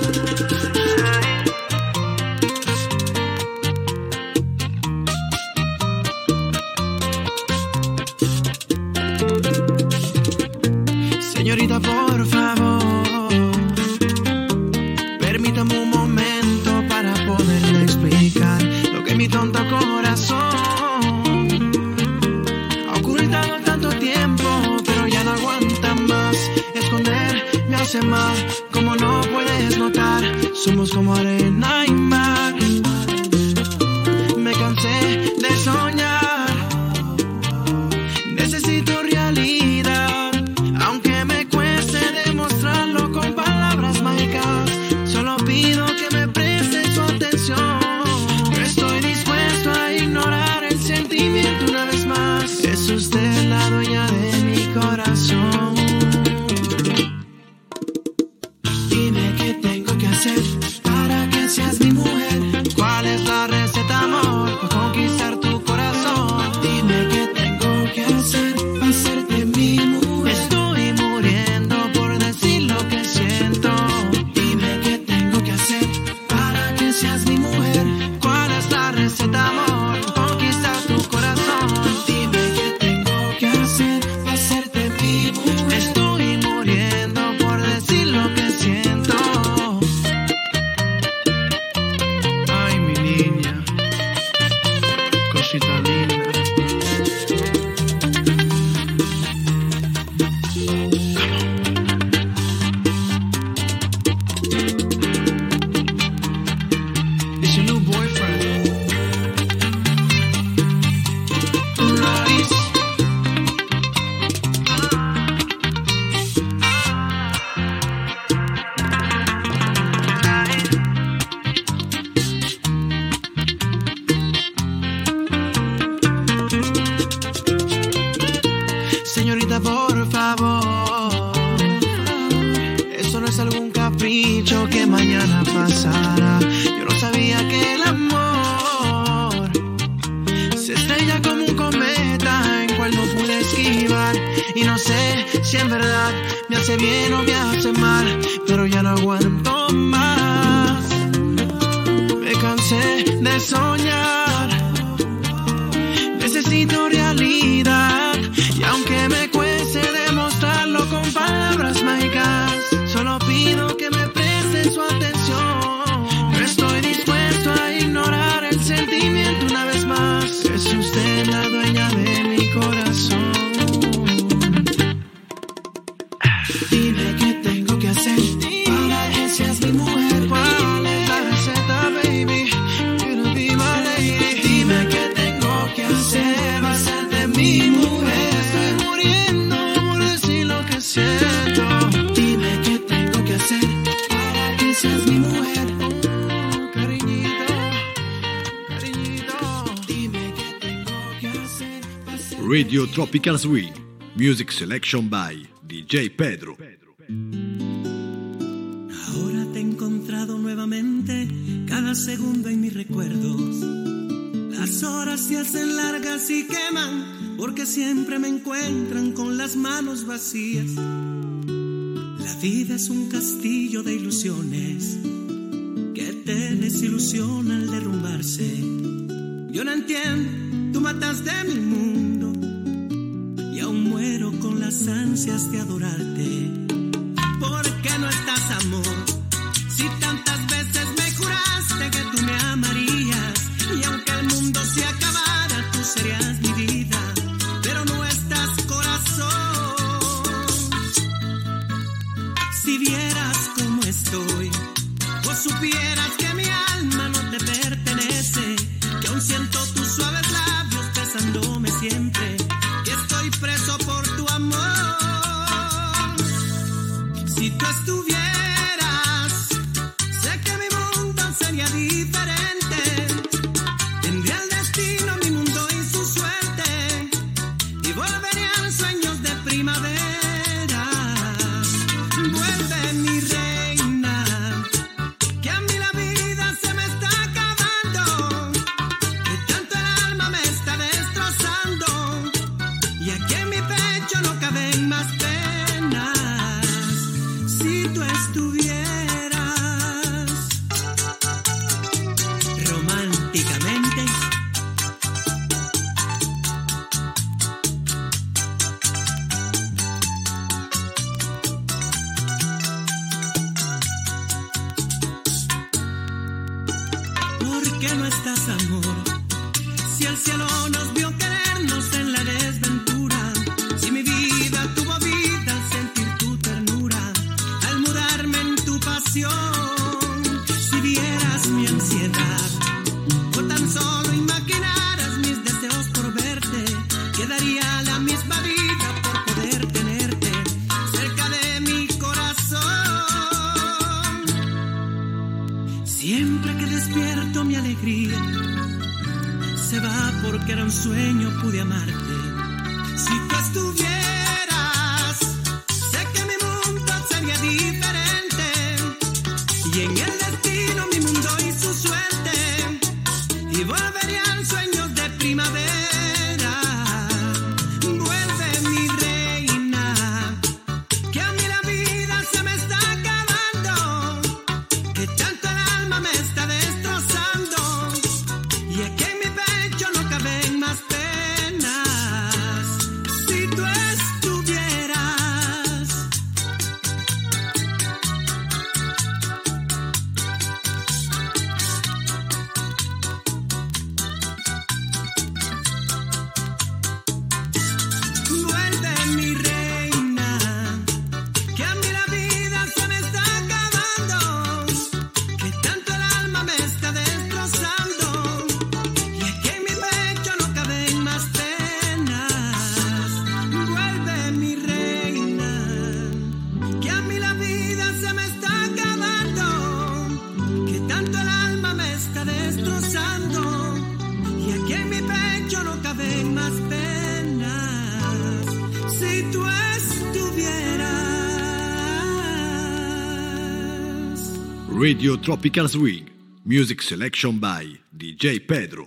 Señorita, por favor, permítame un momento para poderle explicar lo que mi tonto corazón ha ocultado tanto tiempo, pero ya no aguanta más. Esconder me hace mal, como no puedes notar, somos como arena y mar. Me cansé de soñar, necesito realidad, aunque me cueste demostrarlo con palabras mágicas. Solo pido que me preste su atención. No estoy dispuesto a ignorar el sentimiento una vez más. Es usted la dueña de mi corazón. pasara. Yo no sabía que el amor se estrella como un cometa en cual no pude esquivar. Y no sé si en verdad me hace bien o me hace mal, pero ya no aguanto más. Me cansé de soñar, necesito realidad. Y aunque me cueste demostrarlo con palabras mágicas, solo pido que me presten su atención. No estoy dispuesto a ignorar el sentimiento una vez más. Es usted la dueña de mi corazón. Dime qué tengo que hacer para que seas mi mujer. ¿Cuál es la receta, baby? Quiero be my lady. Dime qué tengo que hacer para hacerte mi mujer. Estoy muriendo por decir lo que siento. Dime qué tengo que hacer para que seas mi mujer. Cariñito, cariñito. Dime qué tengo que hacer para hacerte Radio Tropical Swing. Music selection by DJ Pedro. Ahora te he encontrado nuevamente, cada segundo en mis recuerdos. Las horas se hacen largas y queman, porque siempre me encuentran con las manos vacías. La vida es un castillo de ilusiones que te desilusiona al derrumbarse. Yo no entiendo, tú mataste mi mundo y aún muero con las ansias de adorarte. ¿Por qué no estás, amor? Si tantas veces me juraste que tú me amarías, y aunque el mundo se acabara, tú serías mi vida, pero no estás, corazón. Si vieras cómo estoy, o supieras que mi alma no te pertenece, que aún siento tus suaves labios besándome siempre, que estoy preso por tu amor. Si tú estuvieras, sé que mi mundo sería diferente. Tendría el destino, mi mundo y su suerte, y volverían sueños de primavera. Vuelve, mi reina, que a mí la vida se me está acabando, que tanto el alma me está destrozando, y aquí en mi pecho no caben más penas. Si tú estuvieras románticamente, ¿por qué no estás, amor? Si el cielo nos vio querernos en la desventura, si mi vida tuvo vida al sentir tu ternura, al mudarme en tu pasión, si vieras mi ansiedad, o tan solo imaginaras mis deseos por verte, quedaría la misma vida por poder tenerte cerca de mi corazón. Siempre que despierto mi alegría se va, porque era un sueño, pude amarte. Si tú estuvieras, sé que mi mundo sería diferente, y en el destino mi mundo y su suerte, y volverían sueños de primavera. Vuelve, mi reina, que a mí la vida se me está acabando, que tanto el alma me está destrozando, y aquí en mi pecho no caben más penas. Si tú Radio Tropical Swing. Music selection by DJ Pedro.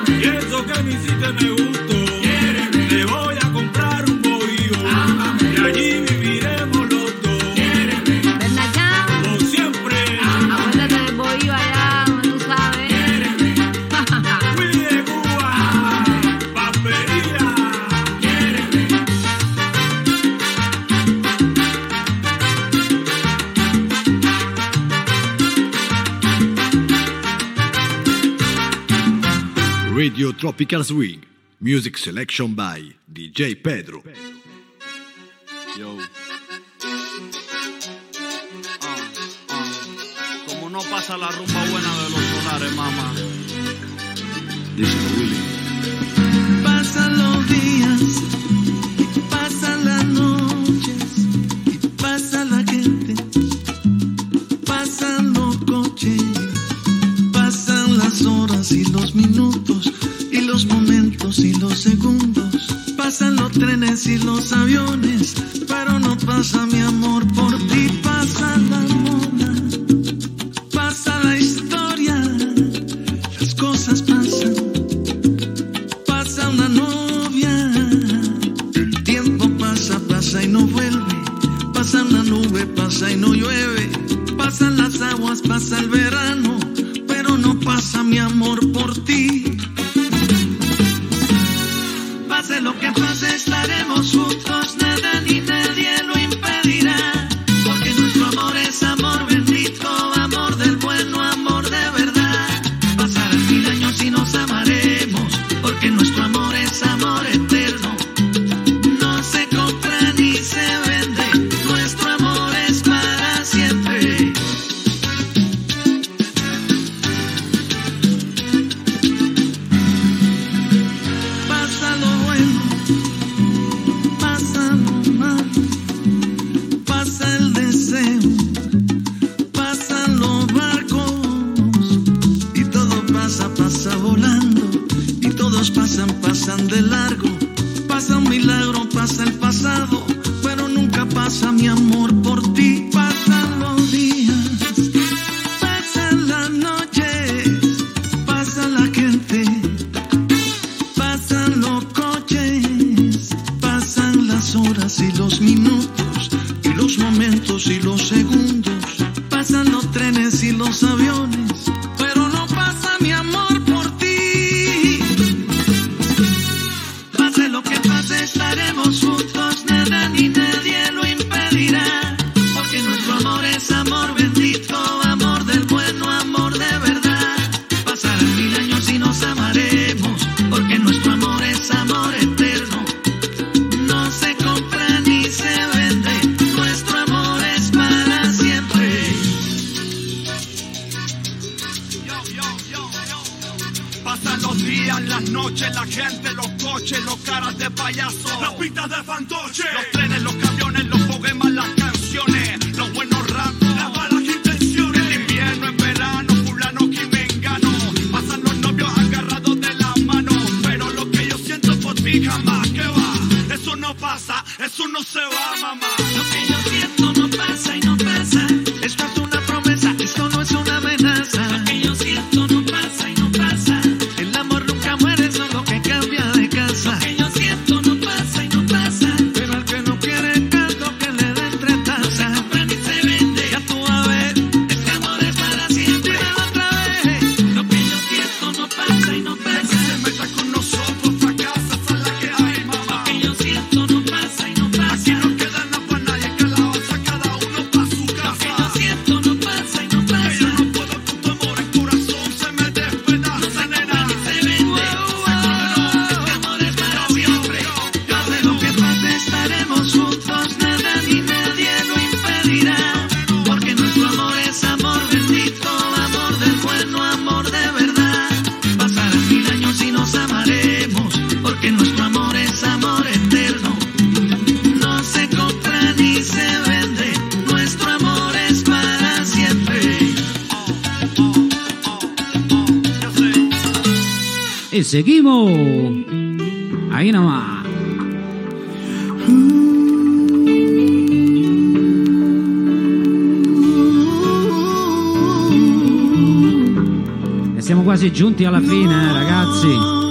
me hiciste me gustó. Te voy a comprar un bohío. Radio Tropical Swing. Music selection by DJ Pedro. Yo. Como no pasa la rumba buena de los solares, mamá. Díselo, Willy. Pasan los días, y pasan las noches, y pasa la gente, pasan los coches, pasan las horas y los minutos, y los momentos y los segundos, pasan los trenes y los aviones, pero no pasa mi amor por ti, pasa la moda, pasa la historia, las cosas pasan. Pasa una novia, el tiempo pasa, pasa y no vuelve. Pasa una nube, pasa y no llueve. Pasan las aguas, pasa el verano, pero no pasa mi amor por ti. Pase lo que pase, estaremos juntos, nada ni nadie lo impedirá. Porque nuestro amor es amor bendito, amor del bueno, amor de verdad. Pasarán 1000 años y nos amaremos. Porque nuestro amor es amor eterno, no se compra ni se vende, nuestro amor es para siempre. Pasa lo bueno, pasa lo malo, pasa el deseo, pasan los barcos y todo pasa, pasa volando. Todos pasan, pasan de largo, pasa un milagro, pasa el pasado, pero nunca pasa mi amor por ti. Pasan los días, pasan las noches, pasa la gente, pasan los coches, pasan las horas y los minutos, y los momentos y los segundos, pasan los trenes y los aviones, pero no pasa mi amor por ti. Lo que pase, estaremos juntos, nada ni nadie lo impedirá. Porque nuestro amor es amor bendito, amor del bueno, amor de verdad. Pasarán 1000 años y nos amaremos. Porque nuestro amor es amor eterno, no se compra ni se vende, nuestro amor es para siempre. Pasan los días, las noches, la gente, los coches, los caras de payaso, las pistas de fantoche, los trenes, los camiones, los poemas, las canciones, los buenos ratos, las malas intenciones, el invierno, el verano, fulano y mengano, pasan los novios agarrados de la mano, pero lo que yo siento por ti jamás, ¿qué va? Eso no pasa, eso no se va, mamá. Lo que yo siento no pasa y no pasa, esto es una promesa, esto no es una amenaza. Lo que yo siento no pasa y no pasa, el amor nunca muere, solo que cambia de casa. Lo que yo siento no pasa y no pasa, pero al que no quiere caldo que le den 3 tazas. No se compra ni se vende, ya tú vas a ver, este amor es para siempre. Dímelo otra vez, lo que yo siento no pasa y no pasa. Que se meta con nosotros, fracasa, esa es la que hay, mamá. Lo que yo siento no pasa y no pasa. Aquí no queda nada para nadie, que la osa cada uno pa' su casa. Lo que yo siento no pasa y no pasa. Que yo no puedo con tu amor, el corazón se me despedaza, No se nena. compra ni se vende, este amor es para siempre. Pase lo que pase, estaremos juntos, nada ni nadie lo impedirá. Porque nuestro amor es amor bendito, amor del bueno, amor de verdad. Pasarán 1000 años y nos amaremos, porque nuestro amor es amor eterno, no se compra ni se vende, nuestro amor es para siempre. Y seguimos. Ahí nomás. E siamo quasi giunti alla fine, ragazzi.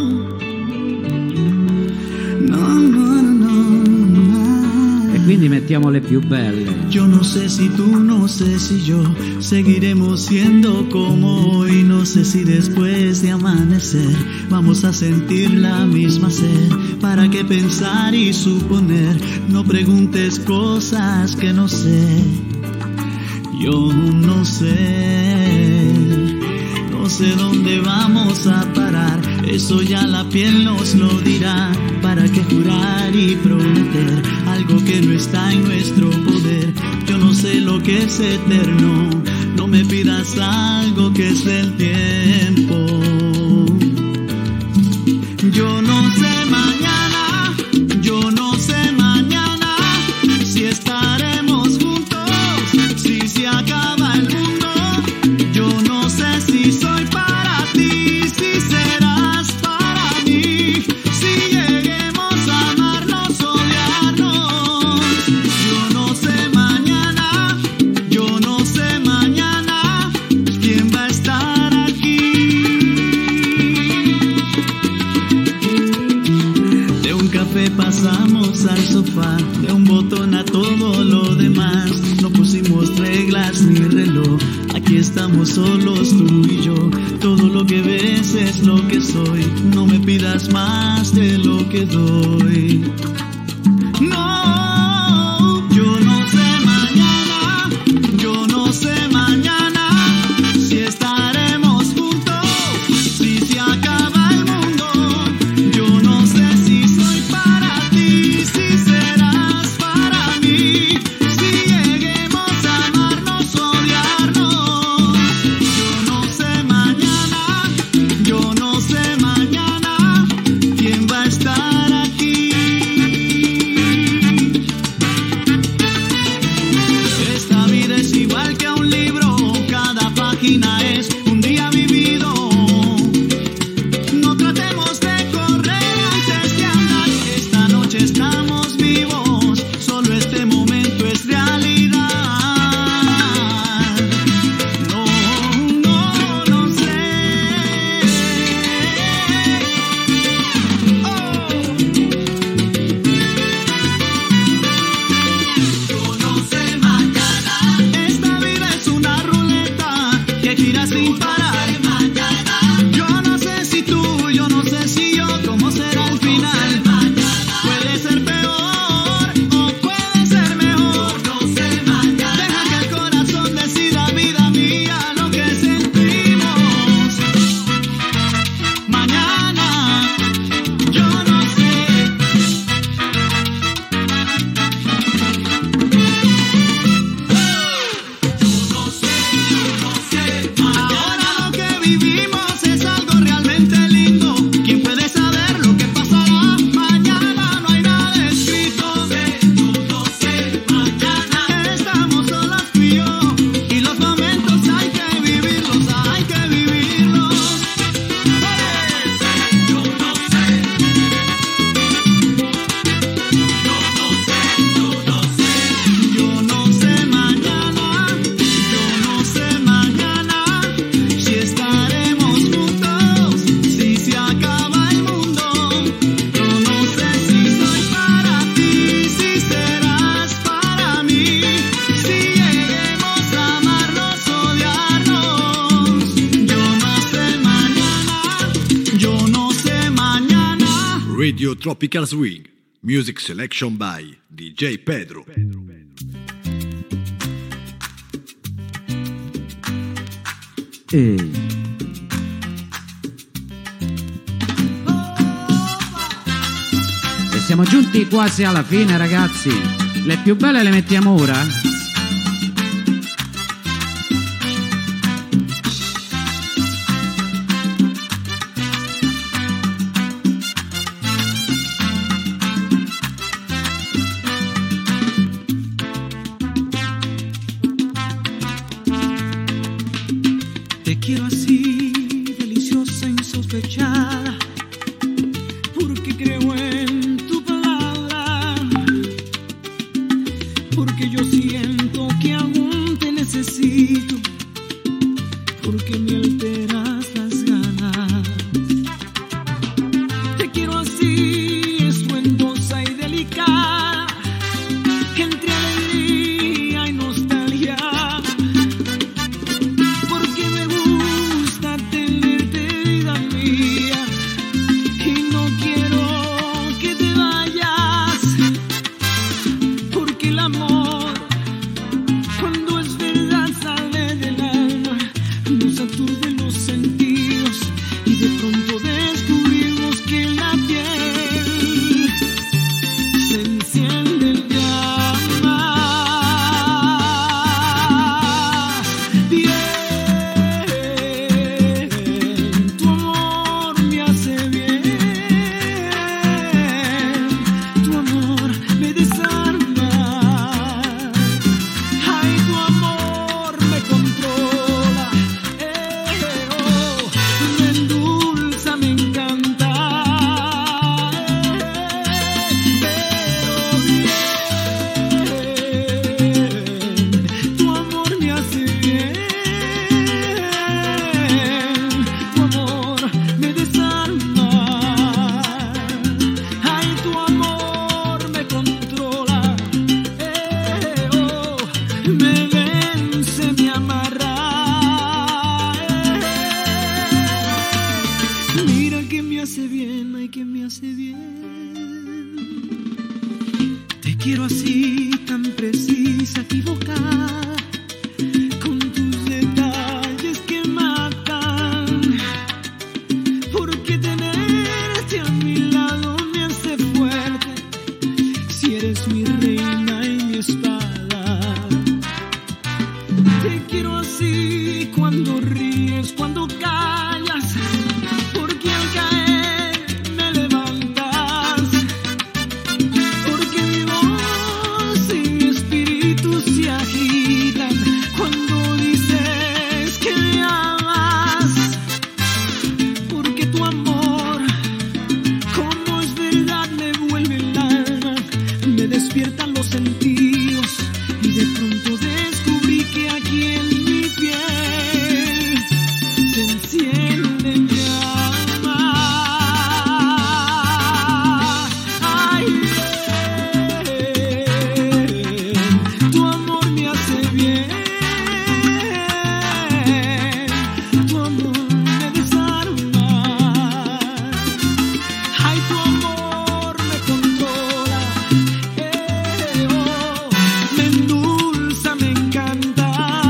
E quindi mettiamo le più belle. Yo no sé si tú, no sé si yo seguiremos siendo como hoy. No sé si después de amanecer vamos a sentir la misma sed. ¿Para qué pensar y suponer? No preguntes cosas que no sé. Yo no sé dónde vamos a parar. Eso ya la piel nos lo dirá. ¿Para qué jurar y prometer algo que no está en nuestro poder? Yo no sé lo que es eterno. No me pidas algo que es del tiempo. Yo no sé mañana, yo no sé mañana si estaremos juntos, si se acaba el mundo. Yo no sé si soy para ti, si serás para mí, si lleguemos a amarnos, odiarnos. Yo no sé mañana, yo no sé mañana quién va a estar aquí. De un café pasamos al sofá, de un botón a todo lo demás. No pusimos reglas ni reloj, aquí estamos solos tú y yo. Todo lo que ves es lo que soy, no me pidas más de lo que doy. No, yo no sé mañana, yo no sé mañana si estaremos juntos, si se acaba el mundo. Yo no sé si soy para ti, si serás para mí, si lleguemos a amarnos, odiarnos. Yo no sé mañana, yo no sé mañana quién va a estar aquí. Esta vida es igual que un libro, cada página es un día vivido. No tratemos de correr antes de andar. Esta noche estamos vivos, solo este momento es realidad. No, no, no sé. Yo no sé mañana. Esta vida es una ruleta que gira sin parar. Yo no sé si tú, yo no sé si yo, cómo será el final. Puede ser peor o puede ser mejor. Deja que el corazón decida, vida mía, lo que sentimos. Mañana, yo no sé. Ahora lo que vivimos es algo realmente lindo. ¿Quién puede saber lo que pasará? Mañana no hay nada escrito. Yo no sé mañana. Estamos solos tú y yo, y los momentos hay que vivirlos, hay que vivirlos. Yo no sé. Yo no sé mañana, yo no sé mañana si estaremos juntos, si se acaba el mundo. Yo no sé si soy para ti, si serás para mí, si lleguemos a amarnos, odiarnos. Yo no sé mañana, yo no sé mañana. Radio Tropical Swing. Music selection by DJ Pedro. E siamo giunti quasi alla fine, ragazzi. Le più belle le mettiamo ora. Te quiero así, deliciosa, insospechada, porque creo en tu palabra, porque yo siento que aún te necesito, porque me alteras las ganas. Te quiero así, estruendosa y delicada, entre alegría y nostalgia. Porque me gusta tenerte, vida mía, y no quiero que te vayas. Porque el amor, cuando es verdad, sale del alma, nos aturde los sentidos y de pronto descubrimos quiero así, tan precisa, equivocada, con tus detalles que matan. Porque tenerte a mi lado me hace fuerte, si eres mi reina y mi espada. Te quiero así, cuando ríes, cuando callas, porque al caer me levantas, porque mi voz y mi espíritu se agitan cuando dices que me amas, porque tu amor, como es verdad, me vuelve el alma, me despiertan los sentidos y de pronto descubrí que aquí en mi piel se enciende llama. Ay, tu amor me hace bien, tu amor me desarma. Ay, tu amor me controla, me endulza, me encanta.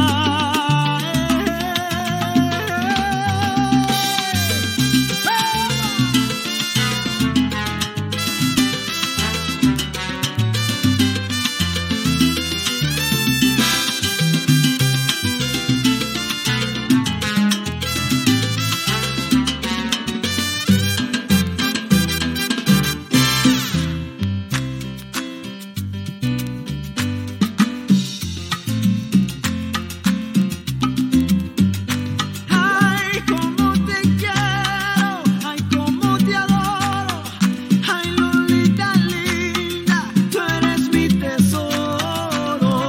Ay, cómo te quiero, ay, cómo te adoro, ay, Lolita linda, tú eres mi tesoro.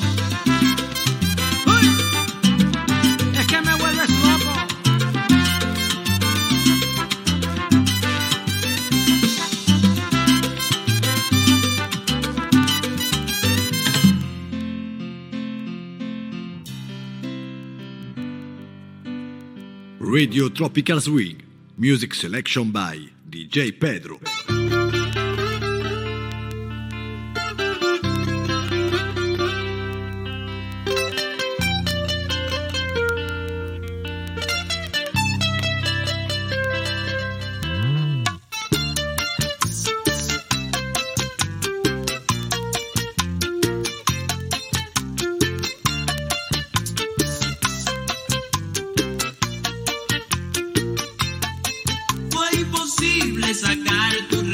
Uy, es que me vuelves loco. Radio Tropical Swing. Music selection by DJ Pedro. Fue imposible sacar tu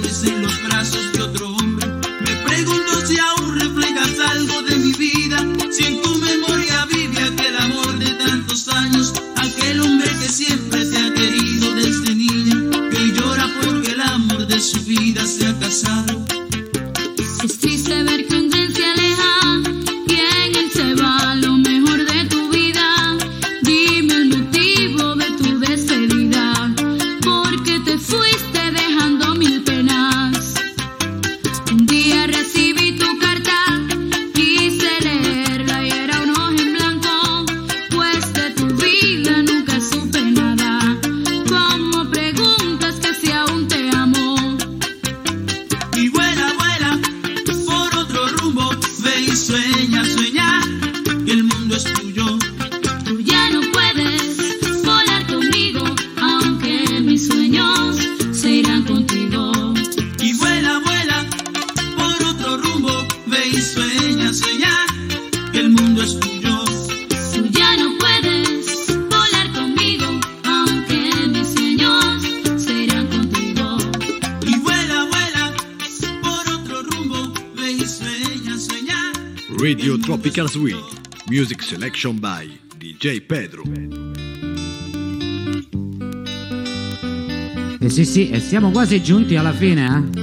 duermes en los brazos de otro hombre. Me pregunto si aún reflejas algo de mi vida, si en tu memoria vive aquel amor de tantos años, aquel hombre que siempre te ha querido desde niña, que llora porque el amor de su vida se ha casado. Es triste ver que un tren se aleja y en él se va lo mejor de tu vida. Dime el motivo de tu despedida, porque te fuiste dejando mil penas. Un día recibí tu carta, quise leerla y era un hoja en blanco, pues de tu vida nunca supe nada. Como preguntas que si aún te amo. Y vuela, vuela por otro rumbo, ve y sueña, sueña que el mundo es tuyo. Tú ya no puedes volar conmigo, aunque mis sueños se irán contigo. Y vuela, vuela por otro rumbo, ve y sueña, sueña que el mundo es tuyo. Tú ya no puedes volar conmigo, aunque mis sueños se irán contigo. Y vuela, vuela por otro rumbo, ve y sueña, sueña. Radio Tropical Swing. Music selection by DJ Pedro. Sì, e siamo quasi giunti alla fine, eh?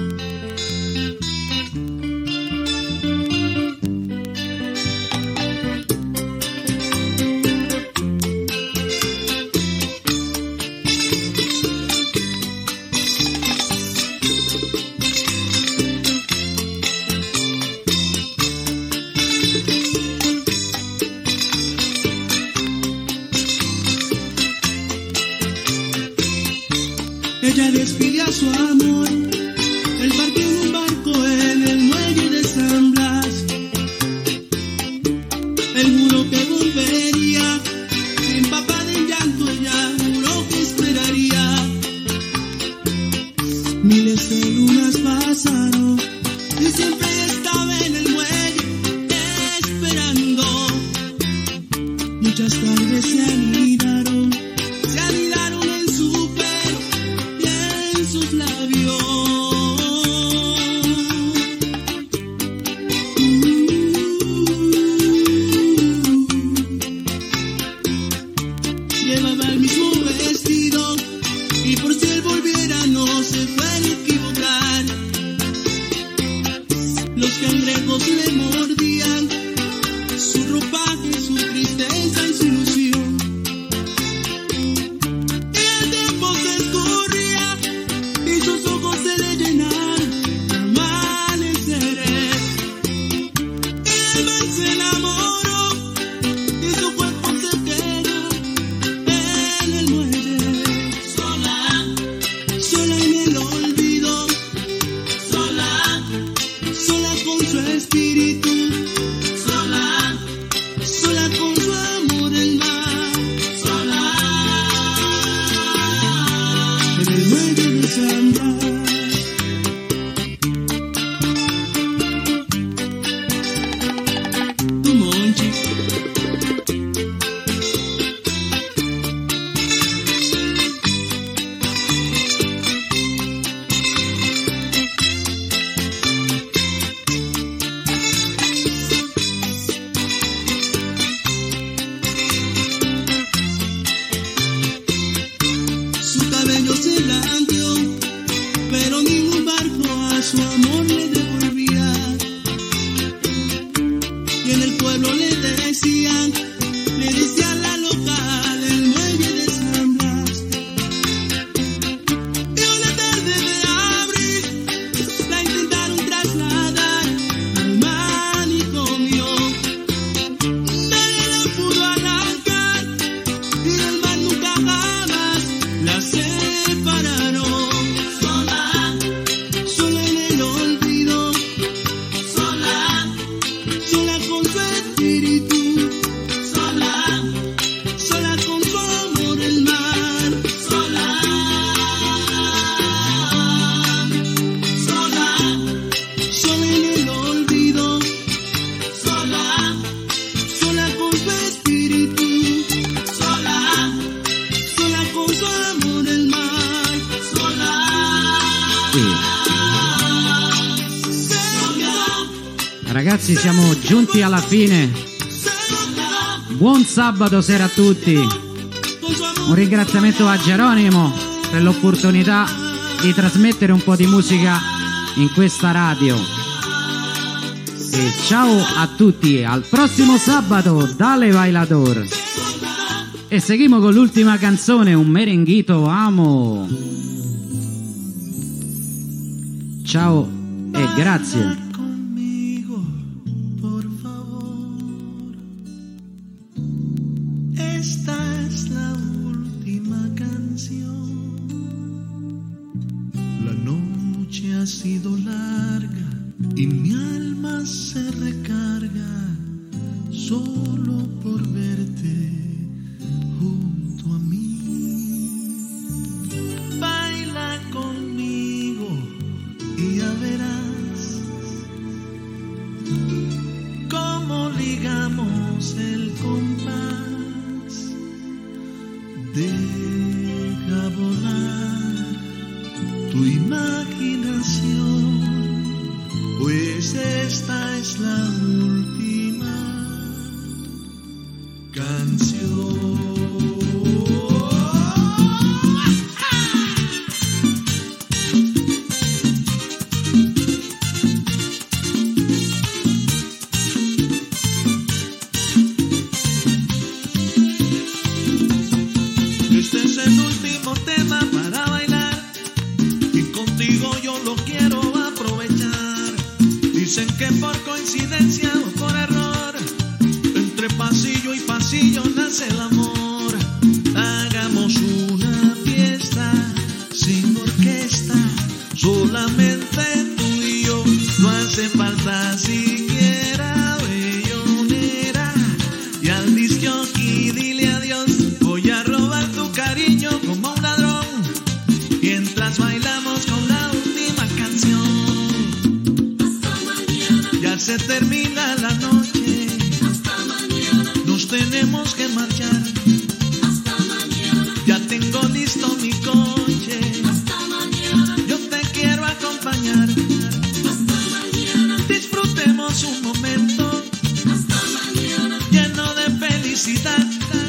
Ella despide a su amor, él partió en un barco en el muelle de San Blas. Él juró que volvería, empapada en llanto ella juró que esperaría. Miles de lunas pasaron y siempre estaba en el muelle esperando. Muchas tardes se anidaron en su pelo y en sus labios. Llevaba el mismo vestido y por si él volviera no se puede equivocar. Los cangrejos le mordían su ropaje, su tristeza y su ilusión. Y el tiempo se escurría y sus ojos se le llenaron de amaneceres. Y el man se enamoró y su cuerpo se quedó en el muelle. Sola, sola en el olvido, sola, sola con su espíritu. Ragazzi, siamo giunti alla fine. Buon sabato sera a tutti. Un ringraziamento a Geronimo per l'opportunità di trasmettere un po' di musica in questa radio. E ciao a tutti, al prossimo sabato, Dale Bailador. E seguimos con l'ultima canzone, un merenguito amo. Ciao e grazie. Conmigo, por favor. Esta es la última canción. La noche ha sido larga y mi alma se recarga solo por verte junto a mí. Baila conmigo y ya verás cómo ligamos el compás. Deja volar tu imaginación, pues esta es la última canción. Este es el último tema para bailar y contigo yo lo quiero aprovechar. Dicen que por coincidencia o por error, entre pasillo y pasillo nace el amor. Hagamos una fiesta sin orquesta, solamente tú y yo. No hace falta siquiera bellonera. Y al disjockey dile adiós. Voy a robar tu cariño como un ladrón, mientras bailamos con la última canción. Ya se termina la noche, nos tenemos que marchar. Ya tengo listo mi coche, yo te quiero acompañar. Disfrutemos un momento lleno de felicidad.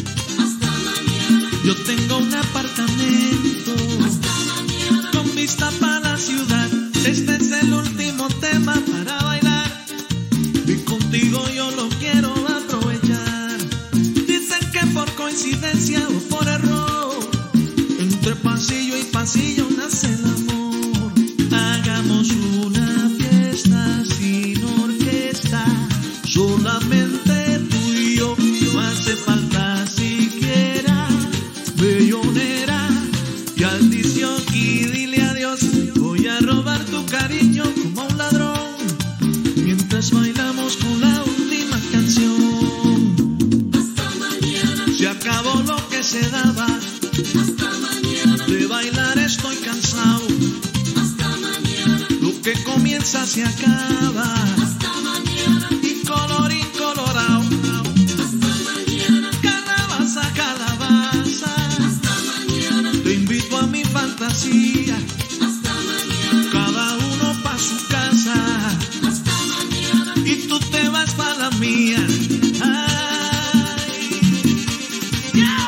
Yo tengo un apartamento con vista para la ciudad. Este es el último tema para bailar y contigo yo lo quiero aprovechar. Dicen que por coincidencia o por error, entre pasillo y pasillo nace el amor. Hagamos una fiesta sin orquesta, solamente tú y yo. No hace falta siquiera bellonera. Y al disjockey dile adiós. Voy a robar tu cariño como un ladrón, mientras bailamos con la última canción. Se acabó lo que se daba, de bailar estoy cansado. Lo que comienza se acaba, y colorín colorado. Calabaza, calabaza, te invito a mi fantasía. Cada uno pa' su casa, y tú te vas pa' la mía. Ay, yeah.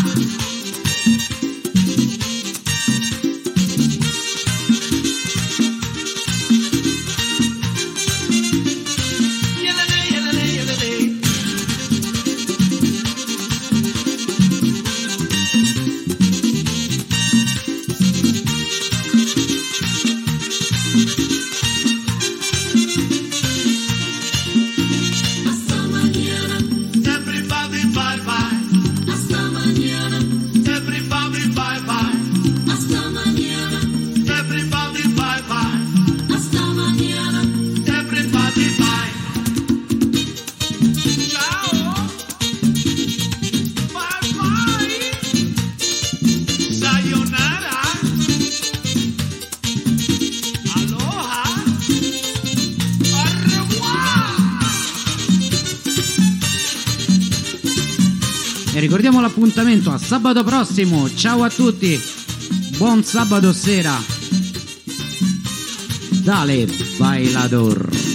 E ricordiamo l'appuntamento a sabato prossimo. Ciao a tutti, buon sabato sera. Dale Bailador.